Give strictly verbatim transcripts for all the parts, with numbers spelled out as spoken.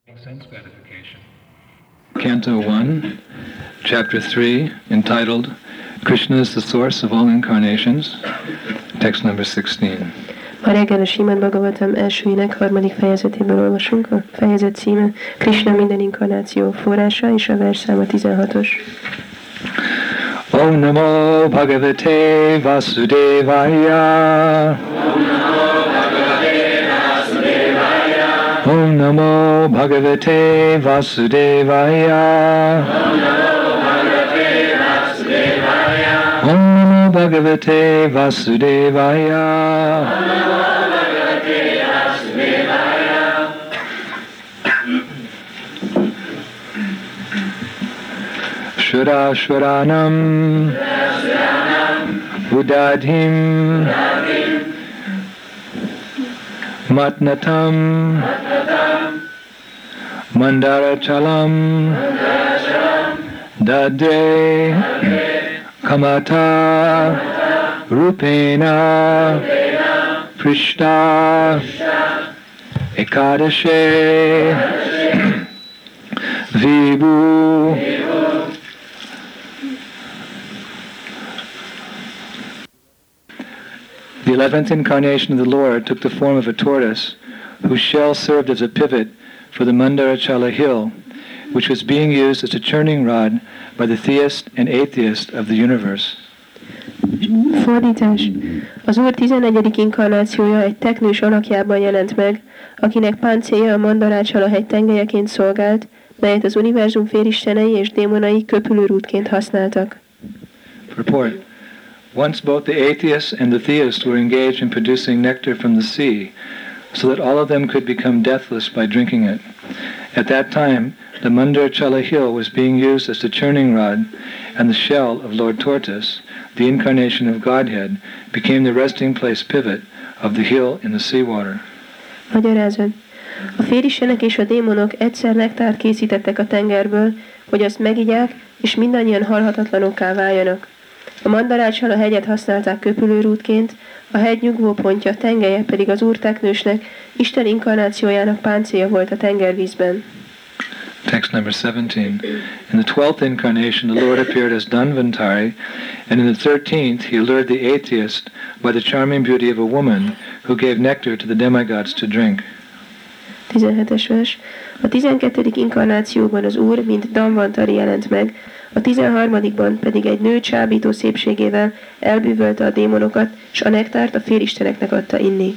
Sense gratification. Canto one, Chapter three, entitled Krishna is the Source of All Incarnations, text number sixteen. A reggel a Srimad Bhagavatam elsőjének harmadik fejezetéből olvasunk, a fejezet címe Krishna minden inkarnáció forrása, és a versszáma tizenhatos. Om Namo Bhagavate Vasudevaya. Om Namo Bhagavate Vasudevaya. Om Namo Bhagavate Vasudevaya. Shura Shuranam Udadhim Matnatam Mandarachalam Dadre Kamata Rupena Prishta Ekadashe Vibhu. The eleventh incarnation of the Lord took the form of a tortoise, whose shell served as a pivot for the Mandarachala hill, which was being used as a churning rod by the theist and atheist of the universe. Fordítás. Az Úr tizenegyedik inkarnációja egy teknős alakjában jelent meg, akinek páncélja a Mandarácsala hegy tengelyeként szolgált, melyet az univerzum félistenei és démonai köpülőrútként használtak. Report. Once both the atheists and the theists were engaged in producing nectar from the sea, so that all of them could become deathless by drinking it. At that time, the Mandarachala hill was being used as the churning rod, and the shell of Lord Tortoise, the incarnation of Godhead, became the resting place pivot of the hill in the seawater. Magyarázat. A félistenek és a démonok egyszer nektárt készítettek a tengerből, hogy azt megigyák, és mindannyian halhatatlanokká váljanak. A Mandarácsala hegyet használták köpülőrútként, a hegy nyugvópontja, tengelye pedig az Úr teknősnek, Isten inkarnációjának páncélja volt a tengervízben. Text number seventeen. In the twelfth incarnation, the Lord appeared as Dhanvantari, and in the thirteenth, he lured the atheist by the charming beauty of a woman who gave nectar to the demigods to drink. tizenhetes vers. A tizenkettedik inkarnációban az Úr, mint Dhanvantari jelent meg, a tizenharmadikban pedig egy nő csábító szépségével elbűvölte a démonokat, és a nektárt a félisteneknek adta inni.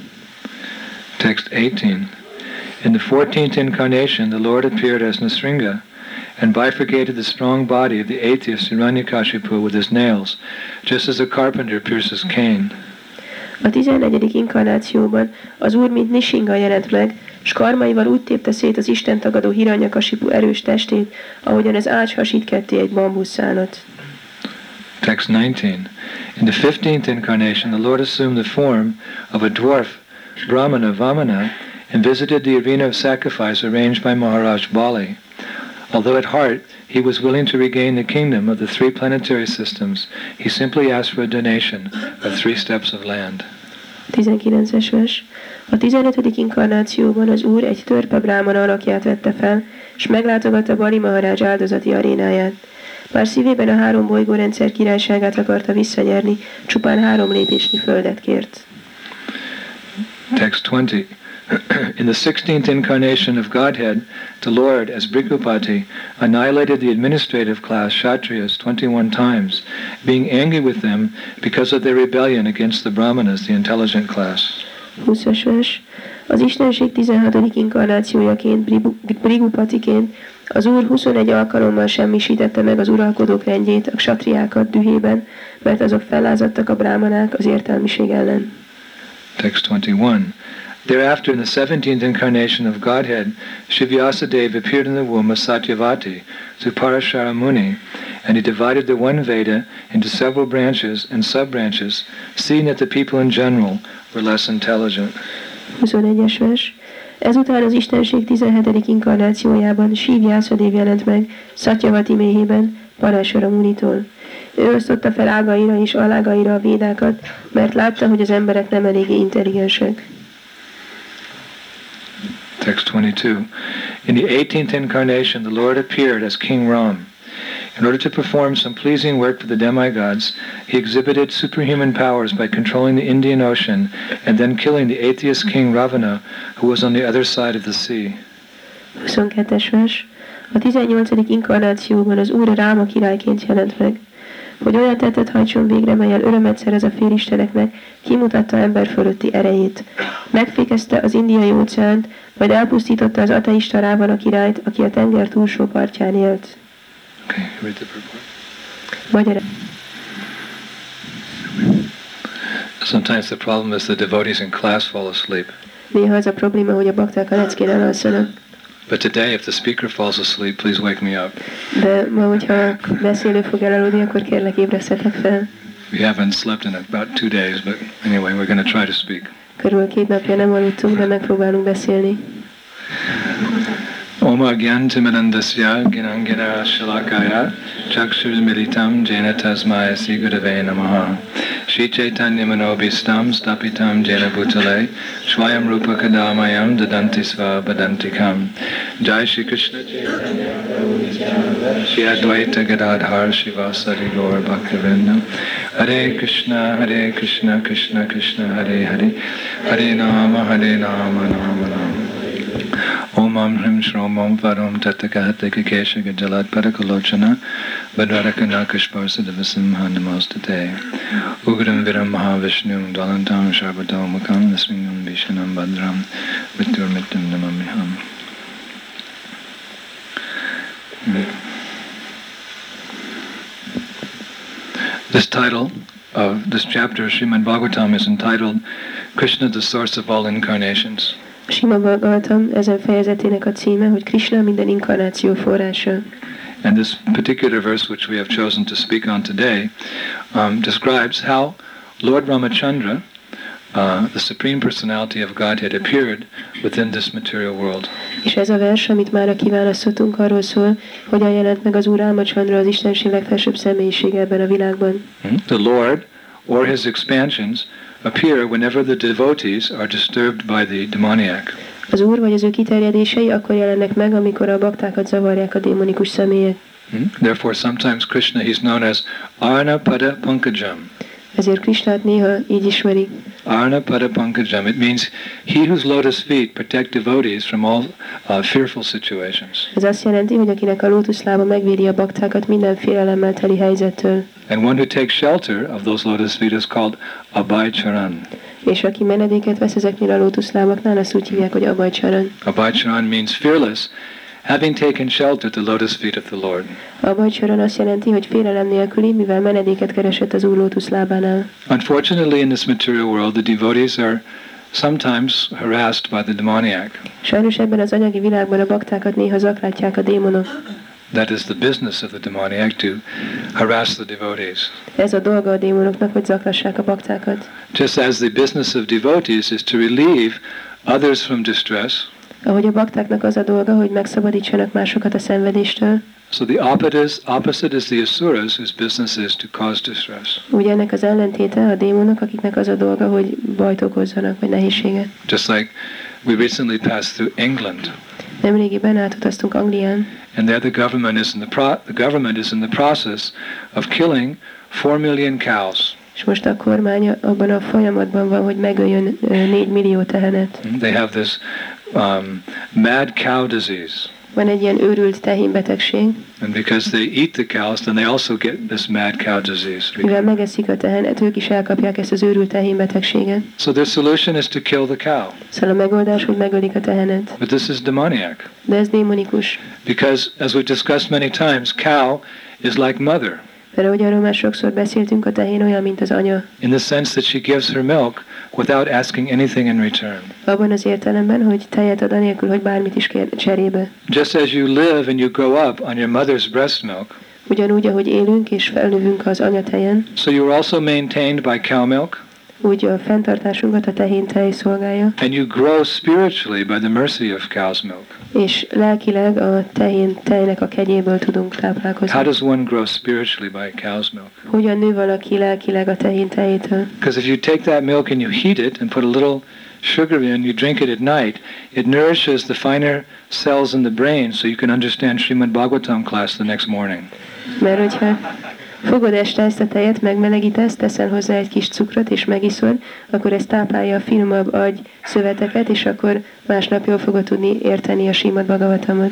Text eighteen. In the fourteenth incarnation, the Lord appeared as Nasringa and bifurcated the strong body of the atheist Hiranyakashipu with his nails, just as a carpenter pierces cane. A tizennegyedik inkarnációban az Úr, mint Nishinga jelent meg, s karmaival úgy tépte szét az istentagadó Hiranyakasipu erős testét, ahogyan az ács hasít ketté egy bambuszszálat. Text nineteen. In the fifteenth incarnation, the Lord assumed the form of a dwarf, Brahmana Vamana, and visited the arena of sacrifice arranged by Maharaj Bali. Although at heart he was willing to regain the kingdom of the three planetary systems, he simply asked for a donation of three steps of land. tizenkilences vers. A tizenötödik inkarnációban az Úr egy törpe brámana alakját vette fel, és meglátogatta Bali Maharaj áldozati arénáját. Bár szívében a három bolygórendszer királyságát akarta visszanyerni, csupán három lépésnyi földet kért. Text twenty. In the sixteenth incarnation of Godhead, the Lord, as Bhrigupati, annihilated the administrative class, Kshatriyas, twenty-one times, being angry with them because of their rebellion against the Brahmanas, the intelligent class. húszas vers. Az Istenség tizenhatodik inkarnációjaként, Bhrigupatiként az Úr huszonegy alkalommal semmisítette meg az uralkodók rendjét, a ksatriákat dühében, mert azok fellázadtak a brámanák az értelmiség ellen. Text twenty-one. Thereafter, in the seventeenth incarnation of Godhead, Shivyasadeva appeared in the womb of Satyavati, through Parashara Muni, and he divided the one Veda into several branches and sub-branches, seeing that the people in general were less intelligent. huszonegyes vers. Ezután az Istenség tizenhetedik inkarnációjában Shivyasadeva jelent meg Satyavati méhében, Parashara Munitól. Ő osztotta fel ágaira és alágaira a védákat, mert látta, hogy az emberek nem eléggé intelligensek. Text twenty-two. In the eighteenth incarnation, the Lord appeared as King Ram. In order to perform some pleasing work for the demigods, he exhibited superhuman powers by controlling the Indian Ocean and then killing the atheist king Ravana, who was on the other side of the sea. huszonkettes vers. A tizennyolcadik inkarnációban az Úr Ráma királyként jelent meg, hogy olyan tettet hajtson végre, mellyel örömet szerez a félisteneknek, kimutatta ember fölötti erejét. Megfékezte az indiai óceánt, majd elpusztította az ateista Rávana királyt, aki a tenger túlsó partján élt. Okay, read the purport. Magyar. Sometimes the problem is the devotees in class fall asleep. Néha az a probléma, hogy a bakták a leckén elalszanak. But today, if the speaker falls asleep, please wake me up. De ma, hogyha a beszélő fog elaludni, akkor kérlek ébresztetek fel. We haven't slept in about two days, but anyway, we're going to try to speak. Körülbelül két napja nem aludtunk, de megpróbálunk beszélni. Oma Gyantimanandasya Ginangina Shalakaya Chakshur Militam Jena Tasmaya Sri Gurave Namaha Shri Chaitanya Manobhistam Stapitam Jena Bhutale Shvayam Rupa Kadamayam Dadanti Sva Badantikam Jai Shri Krishna Chaitanya Shri Advaita Gadadhar Shivasari Gaur Bhaktivinoda Hare Krishna Hare Krishna Krishna Krishna Hare Hare Hare Nama Hare Nama Nama Nama Om Am Hrim Shrom Om Varum Tattakahateka Keshaka Jalad Parakalochana Badvarakana Kashparsadavasimha Namostate Ugram Viram Mahavishnum Dalantam Sharvadom Mukam Nasmingam Vishanam Badram Viturmitum Namamiham. This title of this chapter of Srimad Bhagavatam is entitled Krishna, the Source of All Incarnations. Srimad Bhagavatam ezen fejezetének a címe, hogy Krishna minden inkarnáció forrása. And this particular verse which we have chosen to speak on today um, describes how Lord Ramachandra, uh, the Supreme Personality of Godhead, appeared within this material world. És ez a vers, amit már kiválasztottunk, arról szól, hogyan jelent meg az Úr Ramachandra, az Istenség legfelsőbb személyisége ebben a világban. The Lord, or his expansions, appear whenever the devotees are disturbed by the demoniac. Az Úr vagy az ő kiterjedései akkor jelennek meg, amikor a baktákat zavarják a démonikus személyek. Hmm? Therefore, sometimes Krishna, he's known as Arnapada Pankajam. Ezért Krishnát néha így ismerik. Arnapada Pankajam. It means he whose lotus feet protect devotees from all uh, fearful situations. Ez azt jelenti, hogy akinek a lótuszlába megvédi a baktákat minden félelemmel teli helyzettől. And one who takes shelter of those lotus feet is called Abhay Charan. És aki menedéket vesz ezeknél a lótuszlábaknál, azt úgy hívják, hogy Abhay Charan. Abhay Charan means fearless, having taken shelter at the lotus feet of the Lord. Abhay Charan azt jelenti, hogy félelem nélküli, mivel menedéket keresett az Úr lótuszlábánál. Unfortunately, in this material world, the devotees are sometimes harassed by the demoniac. Sajnos ebben az anyagi világban a baktákat néha zaklátják a démonok. That is the business of the demoniac, to harass the devotees. Ez a dolga a démonoknak, hogy zaklassák a baktákat. Just as the business of devotees is to relieve others from distress, Ahogy a baktáknak az a dolga, hogy megszabadítsanak másokat a szenvedéstől, so the opposite is, opposite is the asuras, whose business is to cause distress. úgy ennek az ellentéte a démonok, akiknek az a dolga, hogy bajt okozzanak, vagy nehézséget. Just like we recently passed through England, Nemrégiben átutaztunk Anglián, and there the government is in the pro- the government is in the process of killing four million cows. és most a kormány abban a folyamatban van, hogy megöljön négy millió tehenet. They have this um, mad cow disease. Van egy ilyen őrült tehénbetegség, And because they eat the cows, then they also get this mad cow disease. mivel megeszik a tehenet, ők is elkapják ezt az őrült tehénbetegséget. So their solution is to kill the cow. Szóval a megoldás, hogy megölik a tehenet. But this is demoniac. De ez démonikus. Because, as we've discussed many times, cow is like mother. Mert ahogy arról már sokszor beszéltünk, a tehén olyan, mint az anya. In the sense that she gives her milk without asking anything in return. Abban az értelemben, hogy tejet ad anélkül, hogy bármit is kér cserébe. Just as you live and you grow up on your mother's breast milk, Ugyanúgy, ahogy élünk és felnövünk az anyatejen, so you are also maintained by cow milk, úgy a fenntartásunkat a tehén tej szolgálja, and you grow spiritually by the mercy of cow's milk. és lelkileg a tehén tejnek a kegyéből tudunk táplálkozni. How does one grow spiritually by cow's milk? Hogyan nő valaki lelkileg a tehén tejétől? Because if you take that milk and you heat it and put a little sugar in, you drink it at night, it nourishes the finer cells in the brain so you can understand Srimad Bhagavatam class the next morning. Mert hogyha fogod este ezt a tejet, megmelegítesz, teszel hozzá egy kis cukrot és megiszod, akkor ez táplálja a finomabb agy szöveteket, és akkor másnap jól fogod tudni érteni a Srimad Bhagavatamot.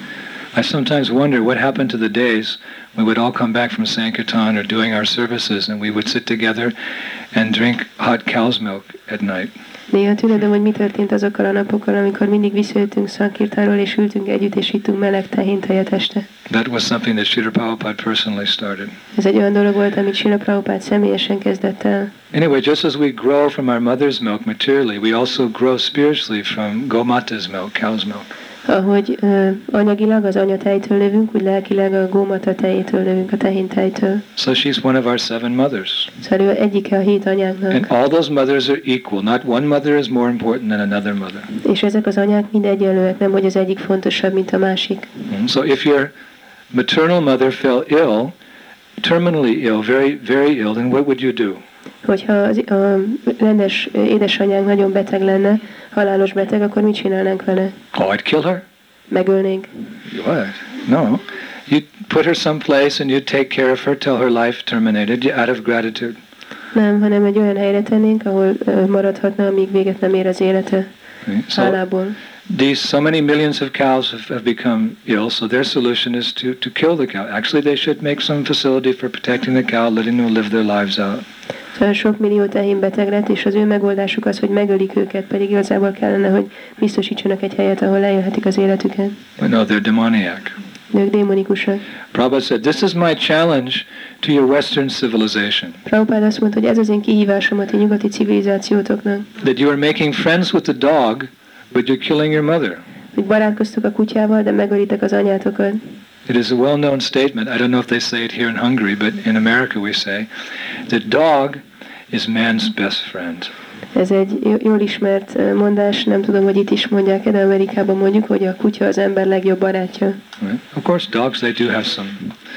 I sometimes wonder what happened to the days we would all come back from Sankirtan or doing our services and we would sit together and drink hot cow's milk at night. Néha tűnödöm, hogy mi történt azokkal a napokkal, amikor mindig visszajöttünk Sankirtáról, és ültünk együtt, és ittunk meleg tehéntejet este. That was something that Srila Prabhupada personally started. Ez egy olyan dolog volt, amit Srila Prabhupada személyesen kezdett el. Anyway, just as we grow from our mother's milk materially, we also grow spiritually from Gomata's milk, cow's milk. Ahogy uh, anyagilag az anyatejtől lövünk, úgy lelkileg a gómata tejétől lövünk, a tehéntejtől. So she's one of our seven mothers. Szóval ő egyike a hét anyáknak. And all those mothers are equal. Not one mother is more important than another mother. És ezek az anyák mind egyenlőek, nem hogy az egyik fontosabb, mint a másik. Mm, so if your maternal mother fell ill, terminally ill, very, very ill, then what would you do? Hogyha az, a rendes édesanyánk nagyon beteg lenne, halálos beteg, akkor mit csinálnánk vele? Oh, I'd kill her? Megölnénk. What? No. You'd put her someplace and you'd take care of her till her life terminated out of gratitude. Nem, hanem egy olyan helyre tennénk, ahol uh, maradhatna, amíg véget nem ér az élete. So hálából. these so many millions of cows have, have become ill, so their solution is to, to kill the cow. Actually, they should make some facility for protecting the cow, letting them live their lives out. Szóval sok millió tehén beteg lett, és az ő megoldásuk az, hogy megölik őket, pedig igazából kellene, hogy biztosítsanak egy helyet, ahol leélhetik az életüket. But no, they're demoniac. Ők démonikusak. Prabhupada said, this is my challenge to your Western civilization. Prabhupada azt mondta, hogy ez az én kihívásom a ti nyugati civilizációtoknak. That you are making friends with the dog, but you're killing your mother. Hogy barátkoztok a kutyával, de megölitek az anyátokat. It is a well-known statement. I don't know if they say it here in Hungary, but in America we say, the dog is man's best friend. Ez egy jól ismert mondás, nem tudom, hogy itt is mondják, de Amerikában mondjuk, hogy a kutya az ember legjobb barátja. Right? Of course, dogs, they do have some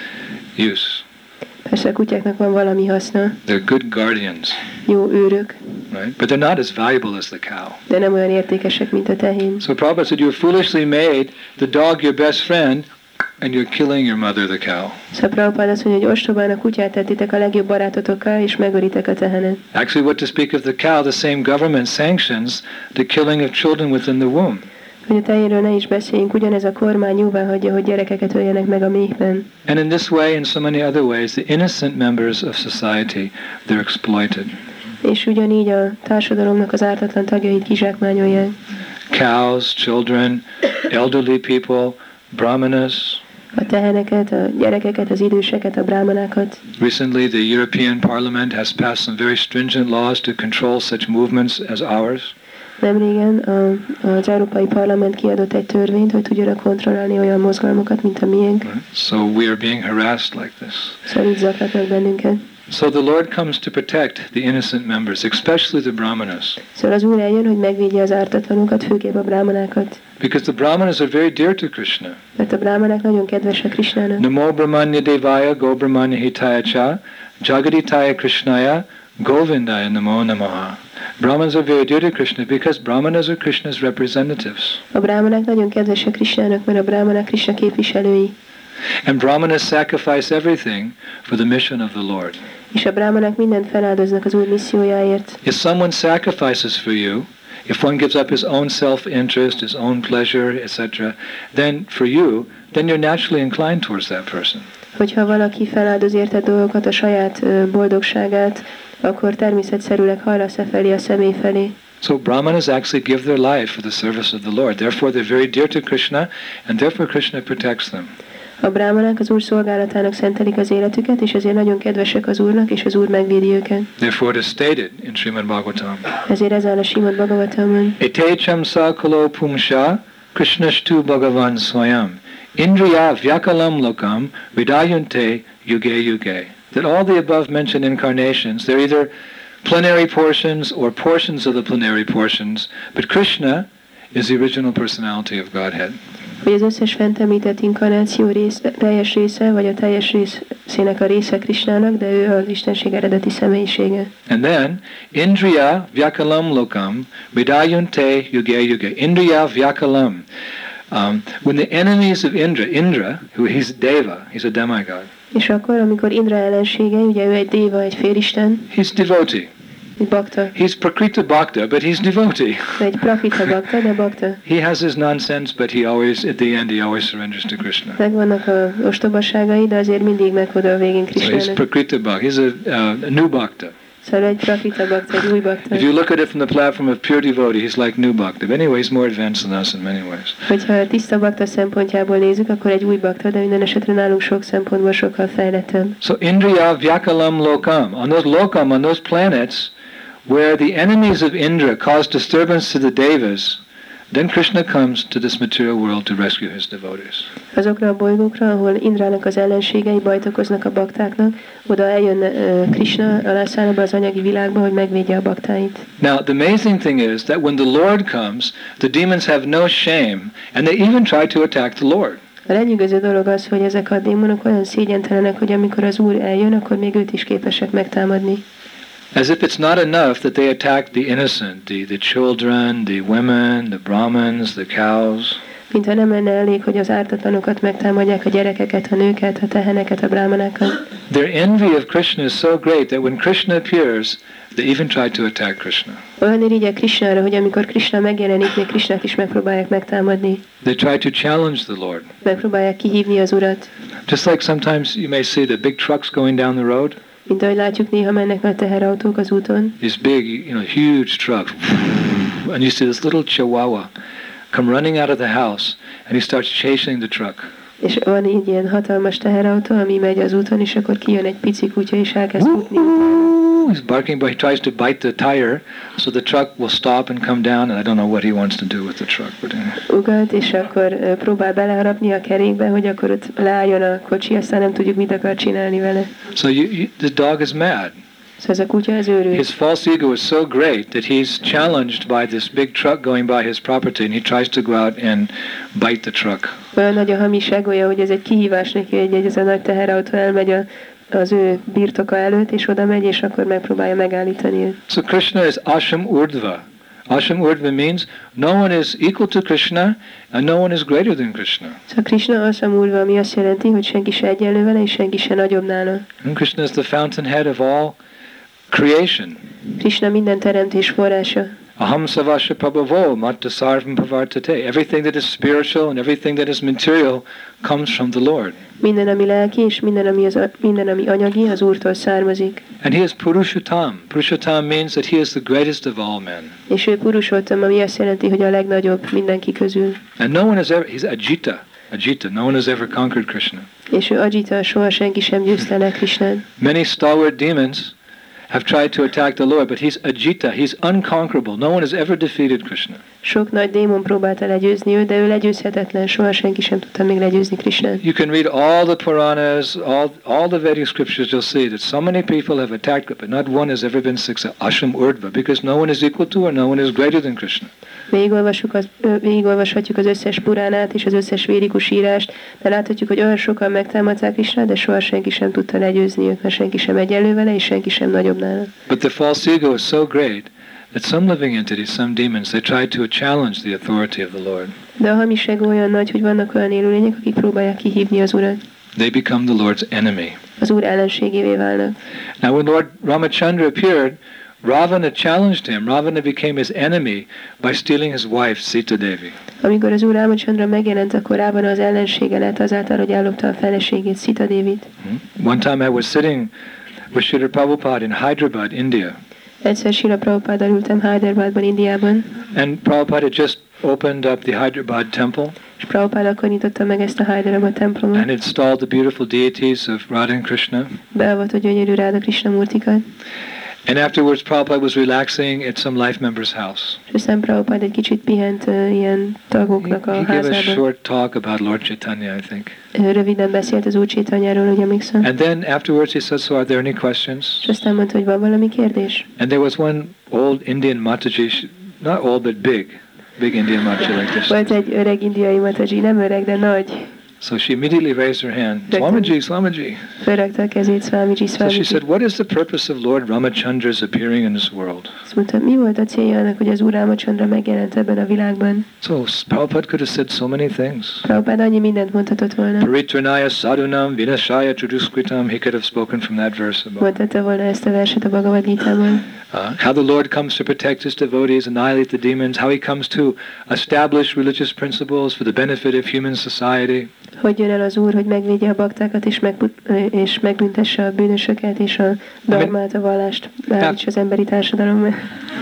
use. Persze a kutyáknak van valami haszna. They're good guardians. Jó őrök. Right? But they're not as valuable as the cow. De nem olyan értékesek, mint a tehén. So Prabhupada said, you foolishly made the dog your best friend, and you're killing your mother, the cow. Szóval Prabhupada azt mondja, hogy ostobán a kutyát tettitek a legjobb barátotokkal, és megölitek a tehenet. Actually, what to speak of the cow, the same government sanctions the killing of children within the womb. Hogy a tehénről ne is beszéljünk, ugyanez a kormány jóvá hagyja, hogy gyerekeket öljenek meg a méhben. And in this way, in so many other ways, the innocent members of society, they're exploited. És ugyanígy a társadalomnak az ártatlan tagjait kizsákmányolják. Cows, children, elderly people, brahmanas. A teheneket, a gyerekeket, az időseket, a brámanákat. Recently, the European Parliament has passed some very stringent laws to control such movements as ours. Nemrégen a, az Európai Parlament kiadott egy törvényt, hogy tudjanak kontrollálni olyan mozgalmakat, mint a miénk. So we are being harassed like this. Szóval így zaklatnak bennünket. So the Lord comes to protect the innocent members, especially the brahmanas. Szóval az Úr eljön, hogy megvédje az ártatlanokat, főképp a brámanákat. Because the brahmanas are very dear to Krishna. Mert a brámanák nagyon kedvesek Krishnának. Namo Brahmanya Devaya Go Brahmanya Hitaya Cha Jagaditaya Krishnaya Govindaya Namo Namaha. Brahmanas are very dear to Krishna because brahmanas are Krishna's representatives. A brámanák nagyon kedvesek Krishnának, mert a brámanák Krishna képviselői. And brahmanas sacrifice everything for the mission of the Lord. És a brámanák mindent feláldoznak az Úr missziójáért. If someone sacrifices for you, if one gives up his own self-interest, his own pleasure, et cetera, then for you, then you're naturally inclined towards that person. Hogyha valaki feláldoz érted dolgokat, a saját boldogságát, akkor természetszerűleg hajlasz e felé a személy felé. So brahmanas actually give their life for the service of the Lord. Therefore they're very dear to Krishna, and therefore Krishna protects them. A brámanák az Úr szolgálatának szentelik az életüket, és ezért nagyon kedvesek az Úrnak, és az Úr megvédi őket. Therefore it is stated in Srimad Bhagavatam. Ezért ez áll a Srimad Bhagavatamon. Etecham sakalo pumsha Krishnashtu Bhagavan Swayam Indriya Vyakalam Lokam Vidayunte Yuge Yuge. That all the above mentioned incarnations, they're either plenary portions or portions of the plenary portions, but Krishna is the original personality of Godhead. Hogy az összes fent említett inkarnáció rész, teljes része, vagy a teljes rész egészének a része Krishnának, de ő az Istenség eredeti személyisége. And then, Indriya Vyakalam Lokam, Vidayunte Yuge Yuge. Indriya Vyakalam. Um, when the enemies of Indra, Indra, who he's Deva, he's a demigod. És akkor, amikor Indra ellensége, ugye ő egy déva, egy félisten, He's devotee. egy bakta, He's Prakrita Bhakta, but he's devotee. egy prakrita bakta, de bakta. He has his nonsense, but he always, at the end, he always surrenders to Krishna. Megvannak a ostobaságai, de azért mindig meghod a végén So he's Krishnának. Prakrita Bhakta. He's a, uh, a new Bhakta. Szóval egy prakrita bakta, egy új bakta. If you look at it from the platform of pure devotee, he's like new Bhakta. But anyway, he's more advanced than us in many ways. Hogyha a tiszta bakta szempontjából nézzük, akkor egy új bakta, de minden esetre nálunk sok szempontból sokkal fejlettebb. So Indriya Vyakalam Lokam. On those Lokam, on those planets, where the enemies of Indra cause disturbance to the Devas, then Krishna comes to this material world to rescue his devotees. Azokra a bolygókra, ahol Indrának az ellenségei bajt okoznak a baktáknak, oda eljön uh, Krishna, alászáll be az anyagi világba, hogy megvédje a baktáit. Now, the amazing thing is that when the Lord comes, the demons have no shame, and they even try to attack the Lord. A lenyűgöző dolog az, hogy ezek a démonok olyan szégyentelenek, hogy amikor az Úr eljön, akkor még őt is képesek megtámadni. As if it's not enough that they attack the innocent, the, the children, the women, the Brahmins, the cows. Mintha nem lenne elég, hogy az ártatlanokat megtámadják, a gyerekeket, a nőket, a teheneket, a brámanákat. Their envy of Krishna is so great that when Krishna appears, they even try to attack Krishna. Olyan irigyek Krishnára, hogy amikor Krishna megjelenik, még Krishnát is megpróbálják megtámadni. They try to challenge the Lord. Megpróbálják kihívni az Urat. Just like sometimes you may see the big trucks going down the road. Mint ahogy látjuk, néha mennek nagy teherautók az úton. These big, you know, huge trucks. And you see this little chihuahua come running out of the house and he starts chasing the truck. És van így ilyen hatalmas teherautó, ami megy az úton, és akkor kijön egy pici kutya, és elkezd futni. He's barking, but he tries to bite the tire, so the truck will stop and come down, and I don't know what he wants to do with the truck. But anyway. Ugat, és akkor uh, próbál beleharapni a kerékbe, hogy akkor ott leálljon a kocsi, aztán nem tudjuk, mit akar csinálni vele. So you, you, the dog is mad. Szóval ez a kutya az őrült. His false ego is so great that he's challenged by this big truck going by his property, and he tries to go out and bite the truck. Olyan nagy a hamis egója, hogy ez egy kihívás neki, hogy ez a nagy teherautó elmegy a, az ő birtoka előtt, és oda megy, és akkor megpróbálja megállítani őt. So Krishna is Asham Urdhva. Asham Urdhva means no one is equal to Krishna, and no one is greater than Krishna. Szóval Krishna Asham Urdhva, ami azt jelenti, hogy senki se egyenlő vele, és senki se nagyobb nála. And Krishna is the fountainhead of all creation. Krishna minden teremtés forrása. Aham savasya prabhavo matta sarvam pavartate. Everything that is spiritual and everything that is material comes from the Lord. Minden, ami lelki, és minden, ami, az, minden, ami anyagi, az Úrtól származik. And he is Purushottam. Purushottam means that he is the greatest of all men. És ő Purushottam, ami azt jelenti, hogy a legnagyobb mindenki közül. And no one has ever, he's Ajita. Ajita, no one has ever conquered Krishna. És ő Ajita, soha senki sem győzte le Krishnát. Many stalwart demons have tried to attack the Lord, but he's Ajita, he's unconquerable. No one has ever defeated Krishna. Sok nagy démon próbálta legyőzni őt, de ő legyőzhetetlen, soha senki sem tudta még legyőzni Krishnát. You can read all the Puranas, all, all the Vedic scriptures, you'll see that so many people have attacked it, but not one has ever been successful. Asham Urdhva, because no one is equal to or no one is greater than Krishna. Végigolvassuk az, végigolvashatjuk az összes Puránát és az összes védikus írást, de láthatjuk, hogy olyan sokan megtámadták Krishnát, de soha senki sem tudta legyőzni őt, mert senki sem egyenlő vele, és senki sem nagyobb nála. But the false ego is so great that some living entities, some demons, they try to challenge the authority of the Lord. De a hamis ego olyan nagy, hogy vannak olyan élőlények, akik próbálják kihívni az Urat. They become the Lord's enemy. Az Úr ellenségévé válnak. Now when Lord Ramachandra appeared, Ravana challenged him. Ravana became his enemy by stealing his wife, Sita Devi. Amikor az Úr Rámachandra megjelent, akkor Rávana az ellensége lett azáltal, hogy ellopta a feleségét, Sita Devit. Hmm? One time I was sitting with Srila Prabhupada in Hyderabad, India. Egyszer Srila Prabhupáddal ültem Hyderabadban, Indiában, And Prabhupada had just opened up the Hyderabad temple és Prabhupád akkor nyitotta meg ezt a Hyderabad templomot, and installed the beautiful deities of Radha and Krishna. beavatott gyönyörű Ráda Krishna murtikat, And afterwards Prabhupada was relaxing at some life member's house. és aztán Prabhupád egy kicsit pihent uh, ilyen tagoknak He, a he gave a házában. short talk about Lord Chaitanya, I think. Ő röviden beszélt az Úr Chaitanyáról, hogy emlékszem. And then afterwards he said, so are there any questions? És aztán mondta, hogy van valami kérdés. And there was one old Indian Mataji, she- not old but big, big Indian Mataji like this. Volt egy öreg indiai mataji, nem öreg, de nagy. So she immediately raised her hand. Swamiji, Swamiji. Fölrakta a kezét, Swamiji, So Swamiji. she said, what is the purpose of Lord Ramachandra's appearing in this world? Azt mondta, mi volt a célja annak, hogy az Úr Rámachandra megjelent ebben a világban? So Prabhupada could have said so many things. Prabhupád annyi mindent mondhatott volna. Paritranaya sadhunam vinashaya chuduskritam. He could have spoken from that verse above. Mondhatta volna ezt a verset a Bhagavad Gítában. Uh, how the Lord comes to protect his devotees, annihilate the demons, how he comes to establish religious principles for the benefit of human society. Hogy jön el az Úr, hogy megvédje a baktákat, és, meg, és megbüntesse a bűnösöket, és a dharmát, a vallást beállítsa az emberi társadalomban.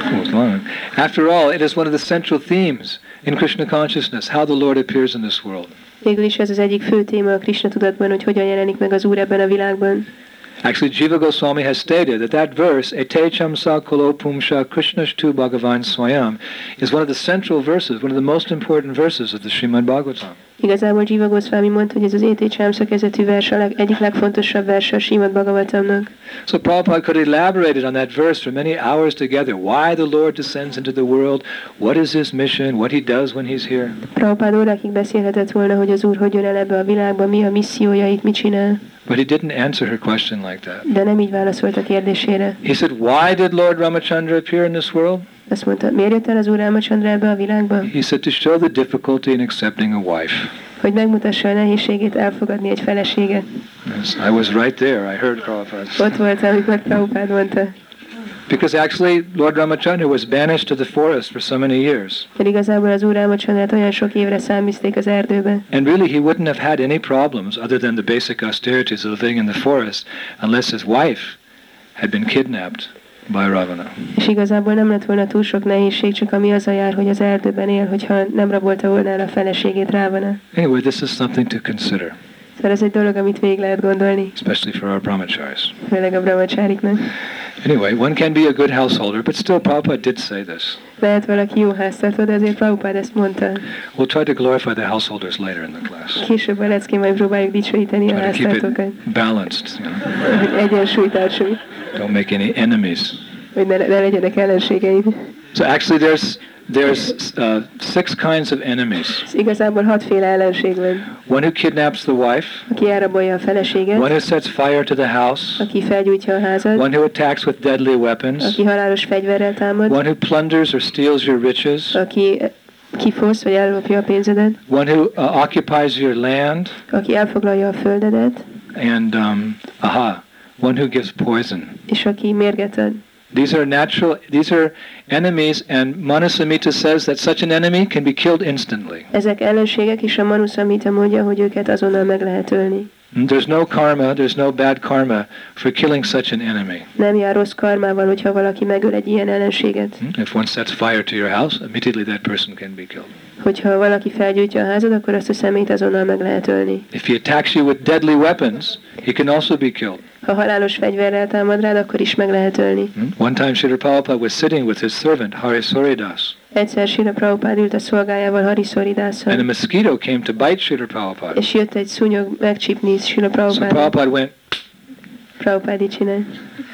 After all, it is one of the central themes in Krishna consciousness, how the Lord appears in this world. Végül is ez az egyik fő téma a Krishna tudatban, hogy hogyan jelenik meg az Úr ebben a világban. Actually, Jiva Goswami has stated that that verse, Etecham sa kolopumsha Krishnashtu Bhagavan Swayam, is one of the central verses, one of the most important verses of the Srimad Bhagavatam. Igazából Jiva Goswami mondta, hogy ez az Été Csámsza kezdetű vers a leg, egyik legfontosabb vers a Srimad Bhagavatamnak. So Prabhupada could have elaborated on that verse for many hours together. Why the Lord descends into the world, what is his mission, what he does when he's here. Prabhupada órákig beszélhetett volna, hogy az Úr hogy jön el ebbe a világba, mi a missziója itt, mit csinál. But he didn't answer her question like that. De nem így válaszolt a kérdésére. He said, why did Lord Ramachandra appear in this world? Azt mondta, miért jött el az Úr Rámachandra ebbe a világba? He said, to show the difficulty in accepting a wife. Hogy megmutassa a nehézségét elfogadni egy feleséget. Yes, I was right there. I heard Prabhupada. Ott volt, amikor Prabhupada mondta. Because actually, Lord Ramachandra was banished to the forest for so many years. Mert igazából az Úr Rámachandrát olyan sok évre száműzték az erdőbe. And really, he wouldn't have had any problems other than the basic austerities of living in the forest, unless his wife had been kidnapped by Ravana. És igazából nem lett volna túl sok nehézség, csak ami az a jár, hogy az erdőben él, hogyha nem rabolta volna el a feleségét Ravana. Anyway, this is something to consider. Szóval ez egy dolog, amit végig lehet gondolni. Especially for our brahmacharis. Főleg a brahmachariknak. Anyway, one can be a good householder, but still Prabhupada did say this. Lehet valaki jó háztartó, de azért Prabhupada ezt mondta. We'll try to glorify the householders later in the class. Később a leckén majd próbáljuk dicsőíteni a Try to keep háztartókat. it balanced, you know. Hogy egyensúlyt tartsunk. Don't make any enemies. Hogy ne, ne legyenek ellenségeim. So actually there's there's uh, six kinds of enemies. Igazából hatféle ellenség van. One who kidnaps the wife. Aki elrabolja a feleséget. One who sets fire to the house. Aki felgyújtja a házat. One who attacks with deadly weapons. Aki halálos fegyverrel támad. One who plunders or steals your riches. Aki kifosz vagy ellopja a pénzedet. One who uh, occupies your land. Aki elfoglalja a földedet. And um, aha, one who gives poison. És aki mérget ad. These are natural, these are enemies, and Manasamhita says that such an enemy can be killed instantly. Ezek ellenségek, és a Manu Samhita mondja, hogy őket azonnal meg lehet ölni. There's no karma, there's no bad karma for killing such an enemy. Nem jár rossz karmával, hogyha valaki megöl egy ilyen ellenséget. If one sets fire to your house, immediately that person can be killed. Hogyha valaki felgyújtja a házad, akkor azt a személyt azonnal meg lehet ölni. If he attacks you with deadly weapons, he can also be killed. Ha halálos fegyverrel támad rád, akkor is meg lehet ölni. One time Srila Prabhupada was sitting with his servant, Harisoridas. Egyszer Srila Prabhupada ült a szolgájával, Harisoridásszal. And a mosquito came to bite Srila Prabhupada. És jött egy szúnyog megcsípni Srila So Prabhupada. Prabhupada went, Prabhupada így csinál.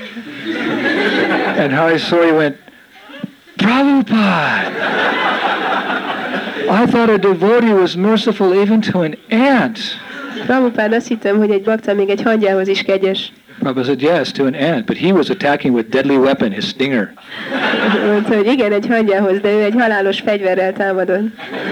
and Harisori went, Prabhupada! I thought a devotee was merciful even to an ant. Prabhupada, azt hittem, hogy egy bakta még egy hangyához is kegyes. Prabhupada said, yes, to an ant, but he was attacking with deadly weapon, his stinger. Mondta, hogy igen, egy hangyához, de ő egy halálos fegyverrel támadott.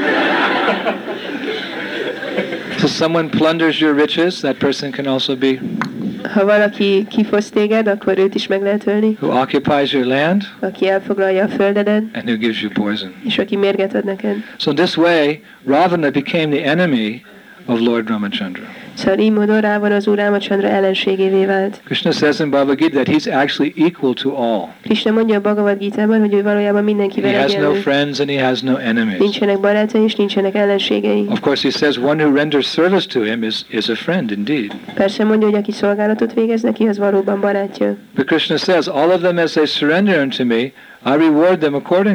So someone plunders your riches, that person can also be. Ha valaki kifosz téged, akkor őt is meg lehet ölni. Who occupies your land, Aki elfoglalja a földedet, and who gives you poison. és aki mérget ad neked. So in this way, Ravana became the enemy of Lord Ramachandra. Szóval így módon Rávana az Úr Rámachandra ellenségévé vált. Krishna says in Bhagavad Gita that he's actually equal to all. Krishna mondja a Bhagavad Gitában, hogy ő valójában mindenkivel He has no egyenlő. friends and he has no enemies. Nincsenek barátai és nincsenek ellenségei. Of course, he says one who renders service to him is, is a friend indeed. Persze mondja, hogy aki szolgálatot végez neki, az valóban barátja. But Krishna says, all of them as they surrender unto me, I reward them accordingly.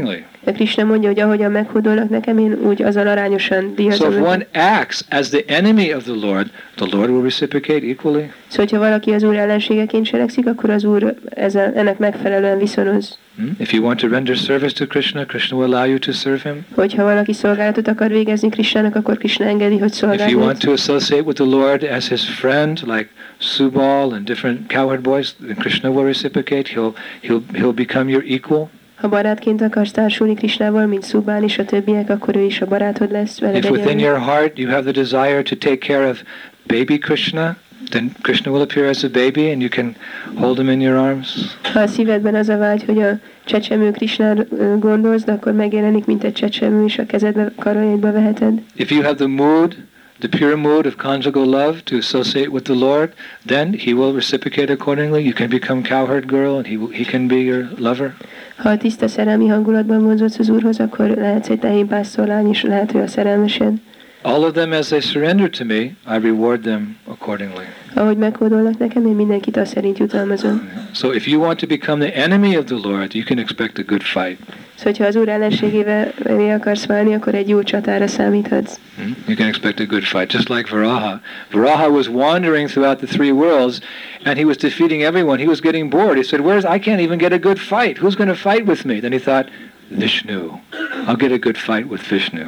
De Krishna mondja, hogy ahogyan meghódolnak nekem, én úgy azzal arányosan So díjazom if őket. one acts as the enemy of the Lord, the Lord will reciprocate equally. Szóval, hogyha valaki az Úr ellenségeként cselekszik, akkor az Úr ezzel, ennek megfelelően viszonoz. Hmm? If you want to render service to Krishna, Krishna will allow you to serve him. Hogyha valaki szolgálatot akar végezni Krishnának, akkor Krishna engedi, hogy If you want szolgáljon. to associate with the Lord as his friend, like Subal and different cowherd boys, then Krishna will reciprocate. He'll he'll he'll become your equal. Ha barátként akarsz társulni Krishnával, mint Szubán és a többiek, akkor ő is a barátod lesz veled If within egyenlő. your heart you have the desire to take care of baby Krishna, then Krishna will appear as a baby and you can hold him in your arms. Ha a szívedben az a vágy, hogy a csecsemő Krisnára ö, gondolsz, de akkor megjelenik, mint egy csecsemő, és a kezedbe, karjaidba veheted. If you have the mood, the pure mood of conjugal love to associate with the Lord, then he will reciprocate accordingly. You can become cowherd girl and he will, he can be your lover. Ha a tiszta szerelmi hangulatban vonzódsz az Úrhoz, akkor lehetsz egy tehénpásztorlány, és lehet, hogy a szerelmesed. All of them as they surrender to me, I reward them accordingly. Ahogy meghódolnak nekem, én mindenkit azt szerint jutalmazom. So if you want to become the enemy of the Lord, you can expect a good fight. Szóval, ha az Úr ellenségével akarsz válni, akkor egy jó csatára számíthatsz. Hmm? You can expect a good fight, just like Varaha. Varaha was wandering throughout the three worlds, and he was defeating everyone. He was getting bored. He said, "Where's I can't even get a good fight. Who's going to fight with me?" Then he thought, Vishnu. I'll get a good fight with Vishnu.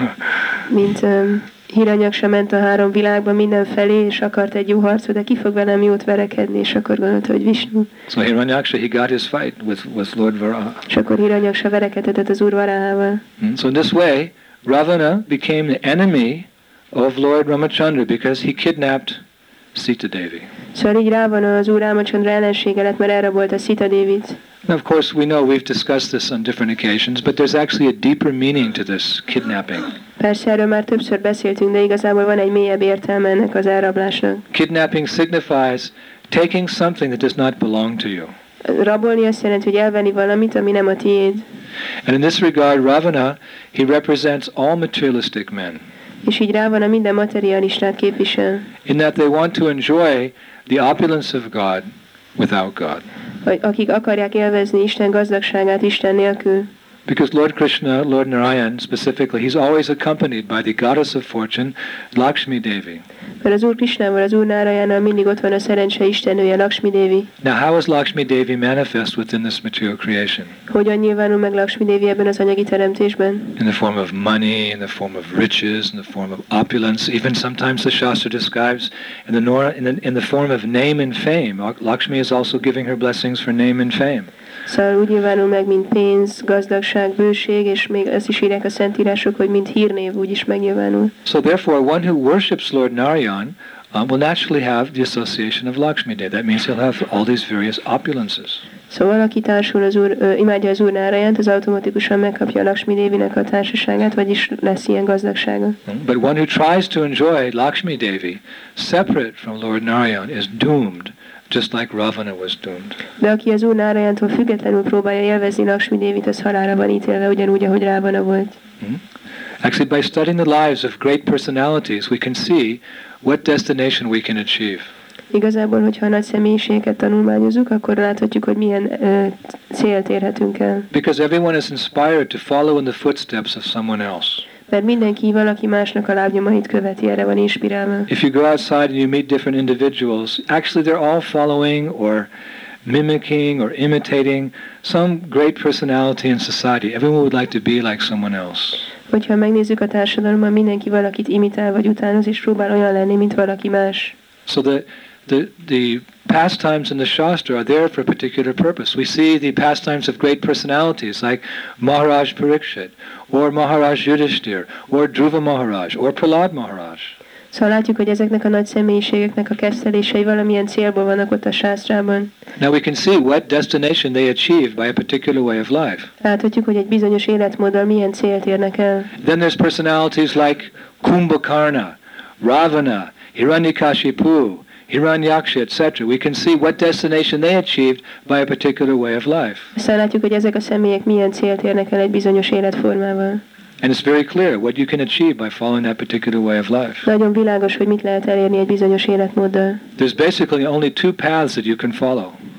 Mint um, Hiranyaksa ment a három világban mindenfelé, és akart egy jó harcot, de ki fog velem jót verekedni, és akkor gondolta, hogy Vishnu. So Hiranyaksha, he got his fight with, with Lord Varaha. És akkor Hiranyaksa verekedhetett az Úr Varahával. Hmm? So in this way, Ravana became the enemy of Lord Ramachandra because he kidnapped Sita Devi. Szóval így rá van az Úr Rámachandra ellensége lett, mert elrabolta Sita Dévit. Now, of course, we know we've discussed this on different occasions, but there's actually a deeper meaning to this kidnapping. Persze erről már többször beszéltünk, de igazából van egy mélyebb értelme ennek az elrablásnak. Kidnapping signifies taking something that does not belong to you. Rabolni azt jelenti, hogy elvenni valamit, ami nem a tiéd. And in this regard, Ravana, he represents all materialistic men, És így rá van a minden materialistát képvisel. in that they want to enjoy the opulence of God without God. Vagy akik akarják élvezni Isten gazdagságát Isten nélkül. Because Lord Krishna, Lord Narayan specifically, he's always accompanied by the goddess of fortune, Lakshmi Devi. Mert az Úr Krishnával, az Úr Nárayánnal mindig ott van a szerencse istennője, Lakshmi Devi. Now, how is Lakshmi Devi manifest within this material creation? Hogyan nyilvánul meg Lakshmi Devi ebben az anyagi teremtésben? In the form of money, in the form of riches, in the form of opulence. Even sometimes the Shastra describes in the, Nora, in the, in the form of name and fame. Lakshmi is also giving her blessings for name and fame. Szóval úgy nyilvánul meg, mint pénz, gazdagság, bőség, és még azt is írják a szentírások, hogy mint hírnév úgy is megnyilvánul. So therefore, one who worships Lord Narayan um, will naturally have the association of Lakshmi Devi. That means he'll have all these various opulences. Szóval aki társul az úr, ö, imádja az Úr Nárajánt, az automatikusan megkapja a Lakshmi Devinek a társaságát, vagyis lesz ilyen gazdagsága. But one who tries to enjoy Lakshmi Devi separate from Lord Narayan is doomed, just like Ravana was doomed. De aki az Úr Nárajántól függetlenül próbálja élvezni Lakshmi Devit, az halálra van ítélve, ugyanúgy, ahogy Rávana volt. Hmm? Actually, by studying the lives of great personalities, we can see what destination we can achieve. Igazából, hogyha a nagy személyiségeket tanulmányozunk, akkor láthatjuk, hogy milyen ö, célt érhetünk el. Because everyone is inspired to follow in the footsteps of someone else. Mert mindenki valaki másnak a lábnyomait követi, erre van inspirálva. If you go outside and you meet different individuals, actually they're all following or mimicking or imitating some great personality in society. Everyone would like to be like someone else. Hogyha megnézzük a társadalomban, mindenki valakit imitál vagy utánoz, és próbál olyan lenni, mint valaki más. So the The, the pastimes in the Shastra are there for a particular purpose. We see the pastimes of great personalities like Maharaj Parikshit, or Maharaj Yudhishthir, or Dhruva Maharaj, or Prahlad Maharaj. Szóval látjuk, hogy ezeknek a nagy személyiségeknek a kezdtelései valamilyen célból vannak ott a sásztrában. Now we can see what destination they achieved by a particular way of life. Láthatjuk, hogy egy bizonyos életmóddal milyen célt érnek el. Then there's personalities like Kumbhakarna, Ravana, Hiranyakashipu, Hiranyaksha, et cetera. We can see what destination they achieved by a particular way of life. Aztán látjuk, hogy ezek a személyek milyen célt érnek el egy bizonyos életformával. And it's very clear what you can achieve by following that particular way of life. Nagyon világos, hogy mit lehet elérni egy bizonyos életmóddal. There's basically only two paths that you can follow.